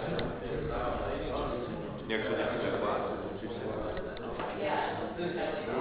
Yeah,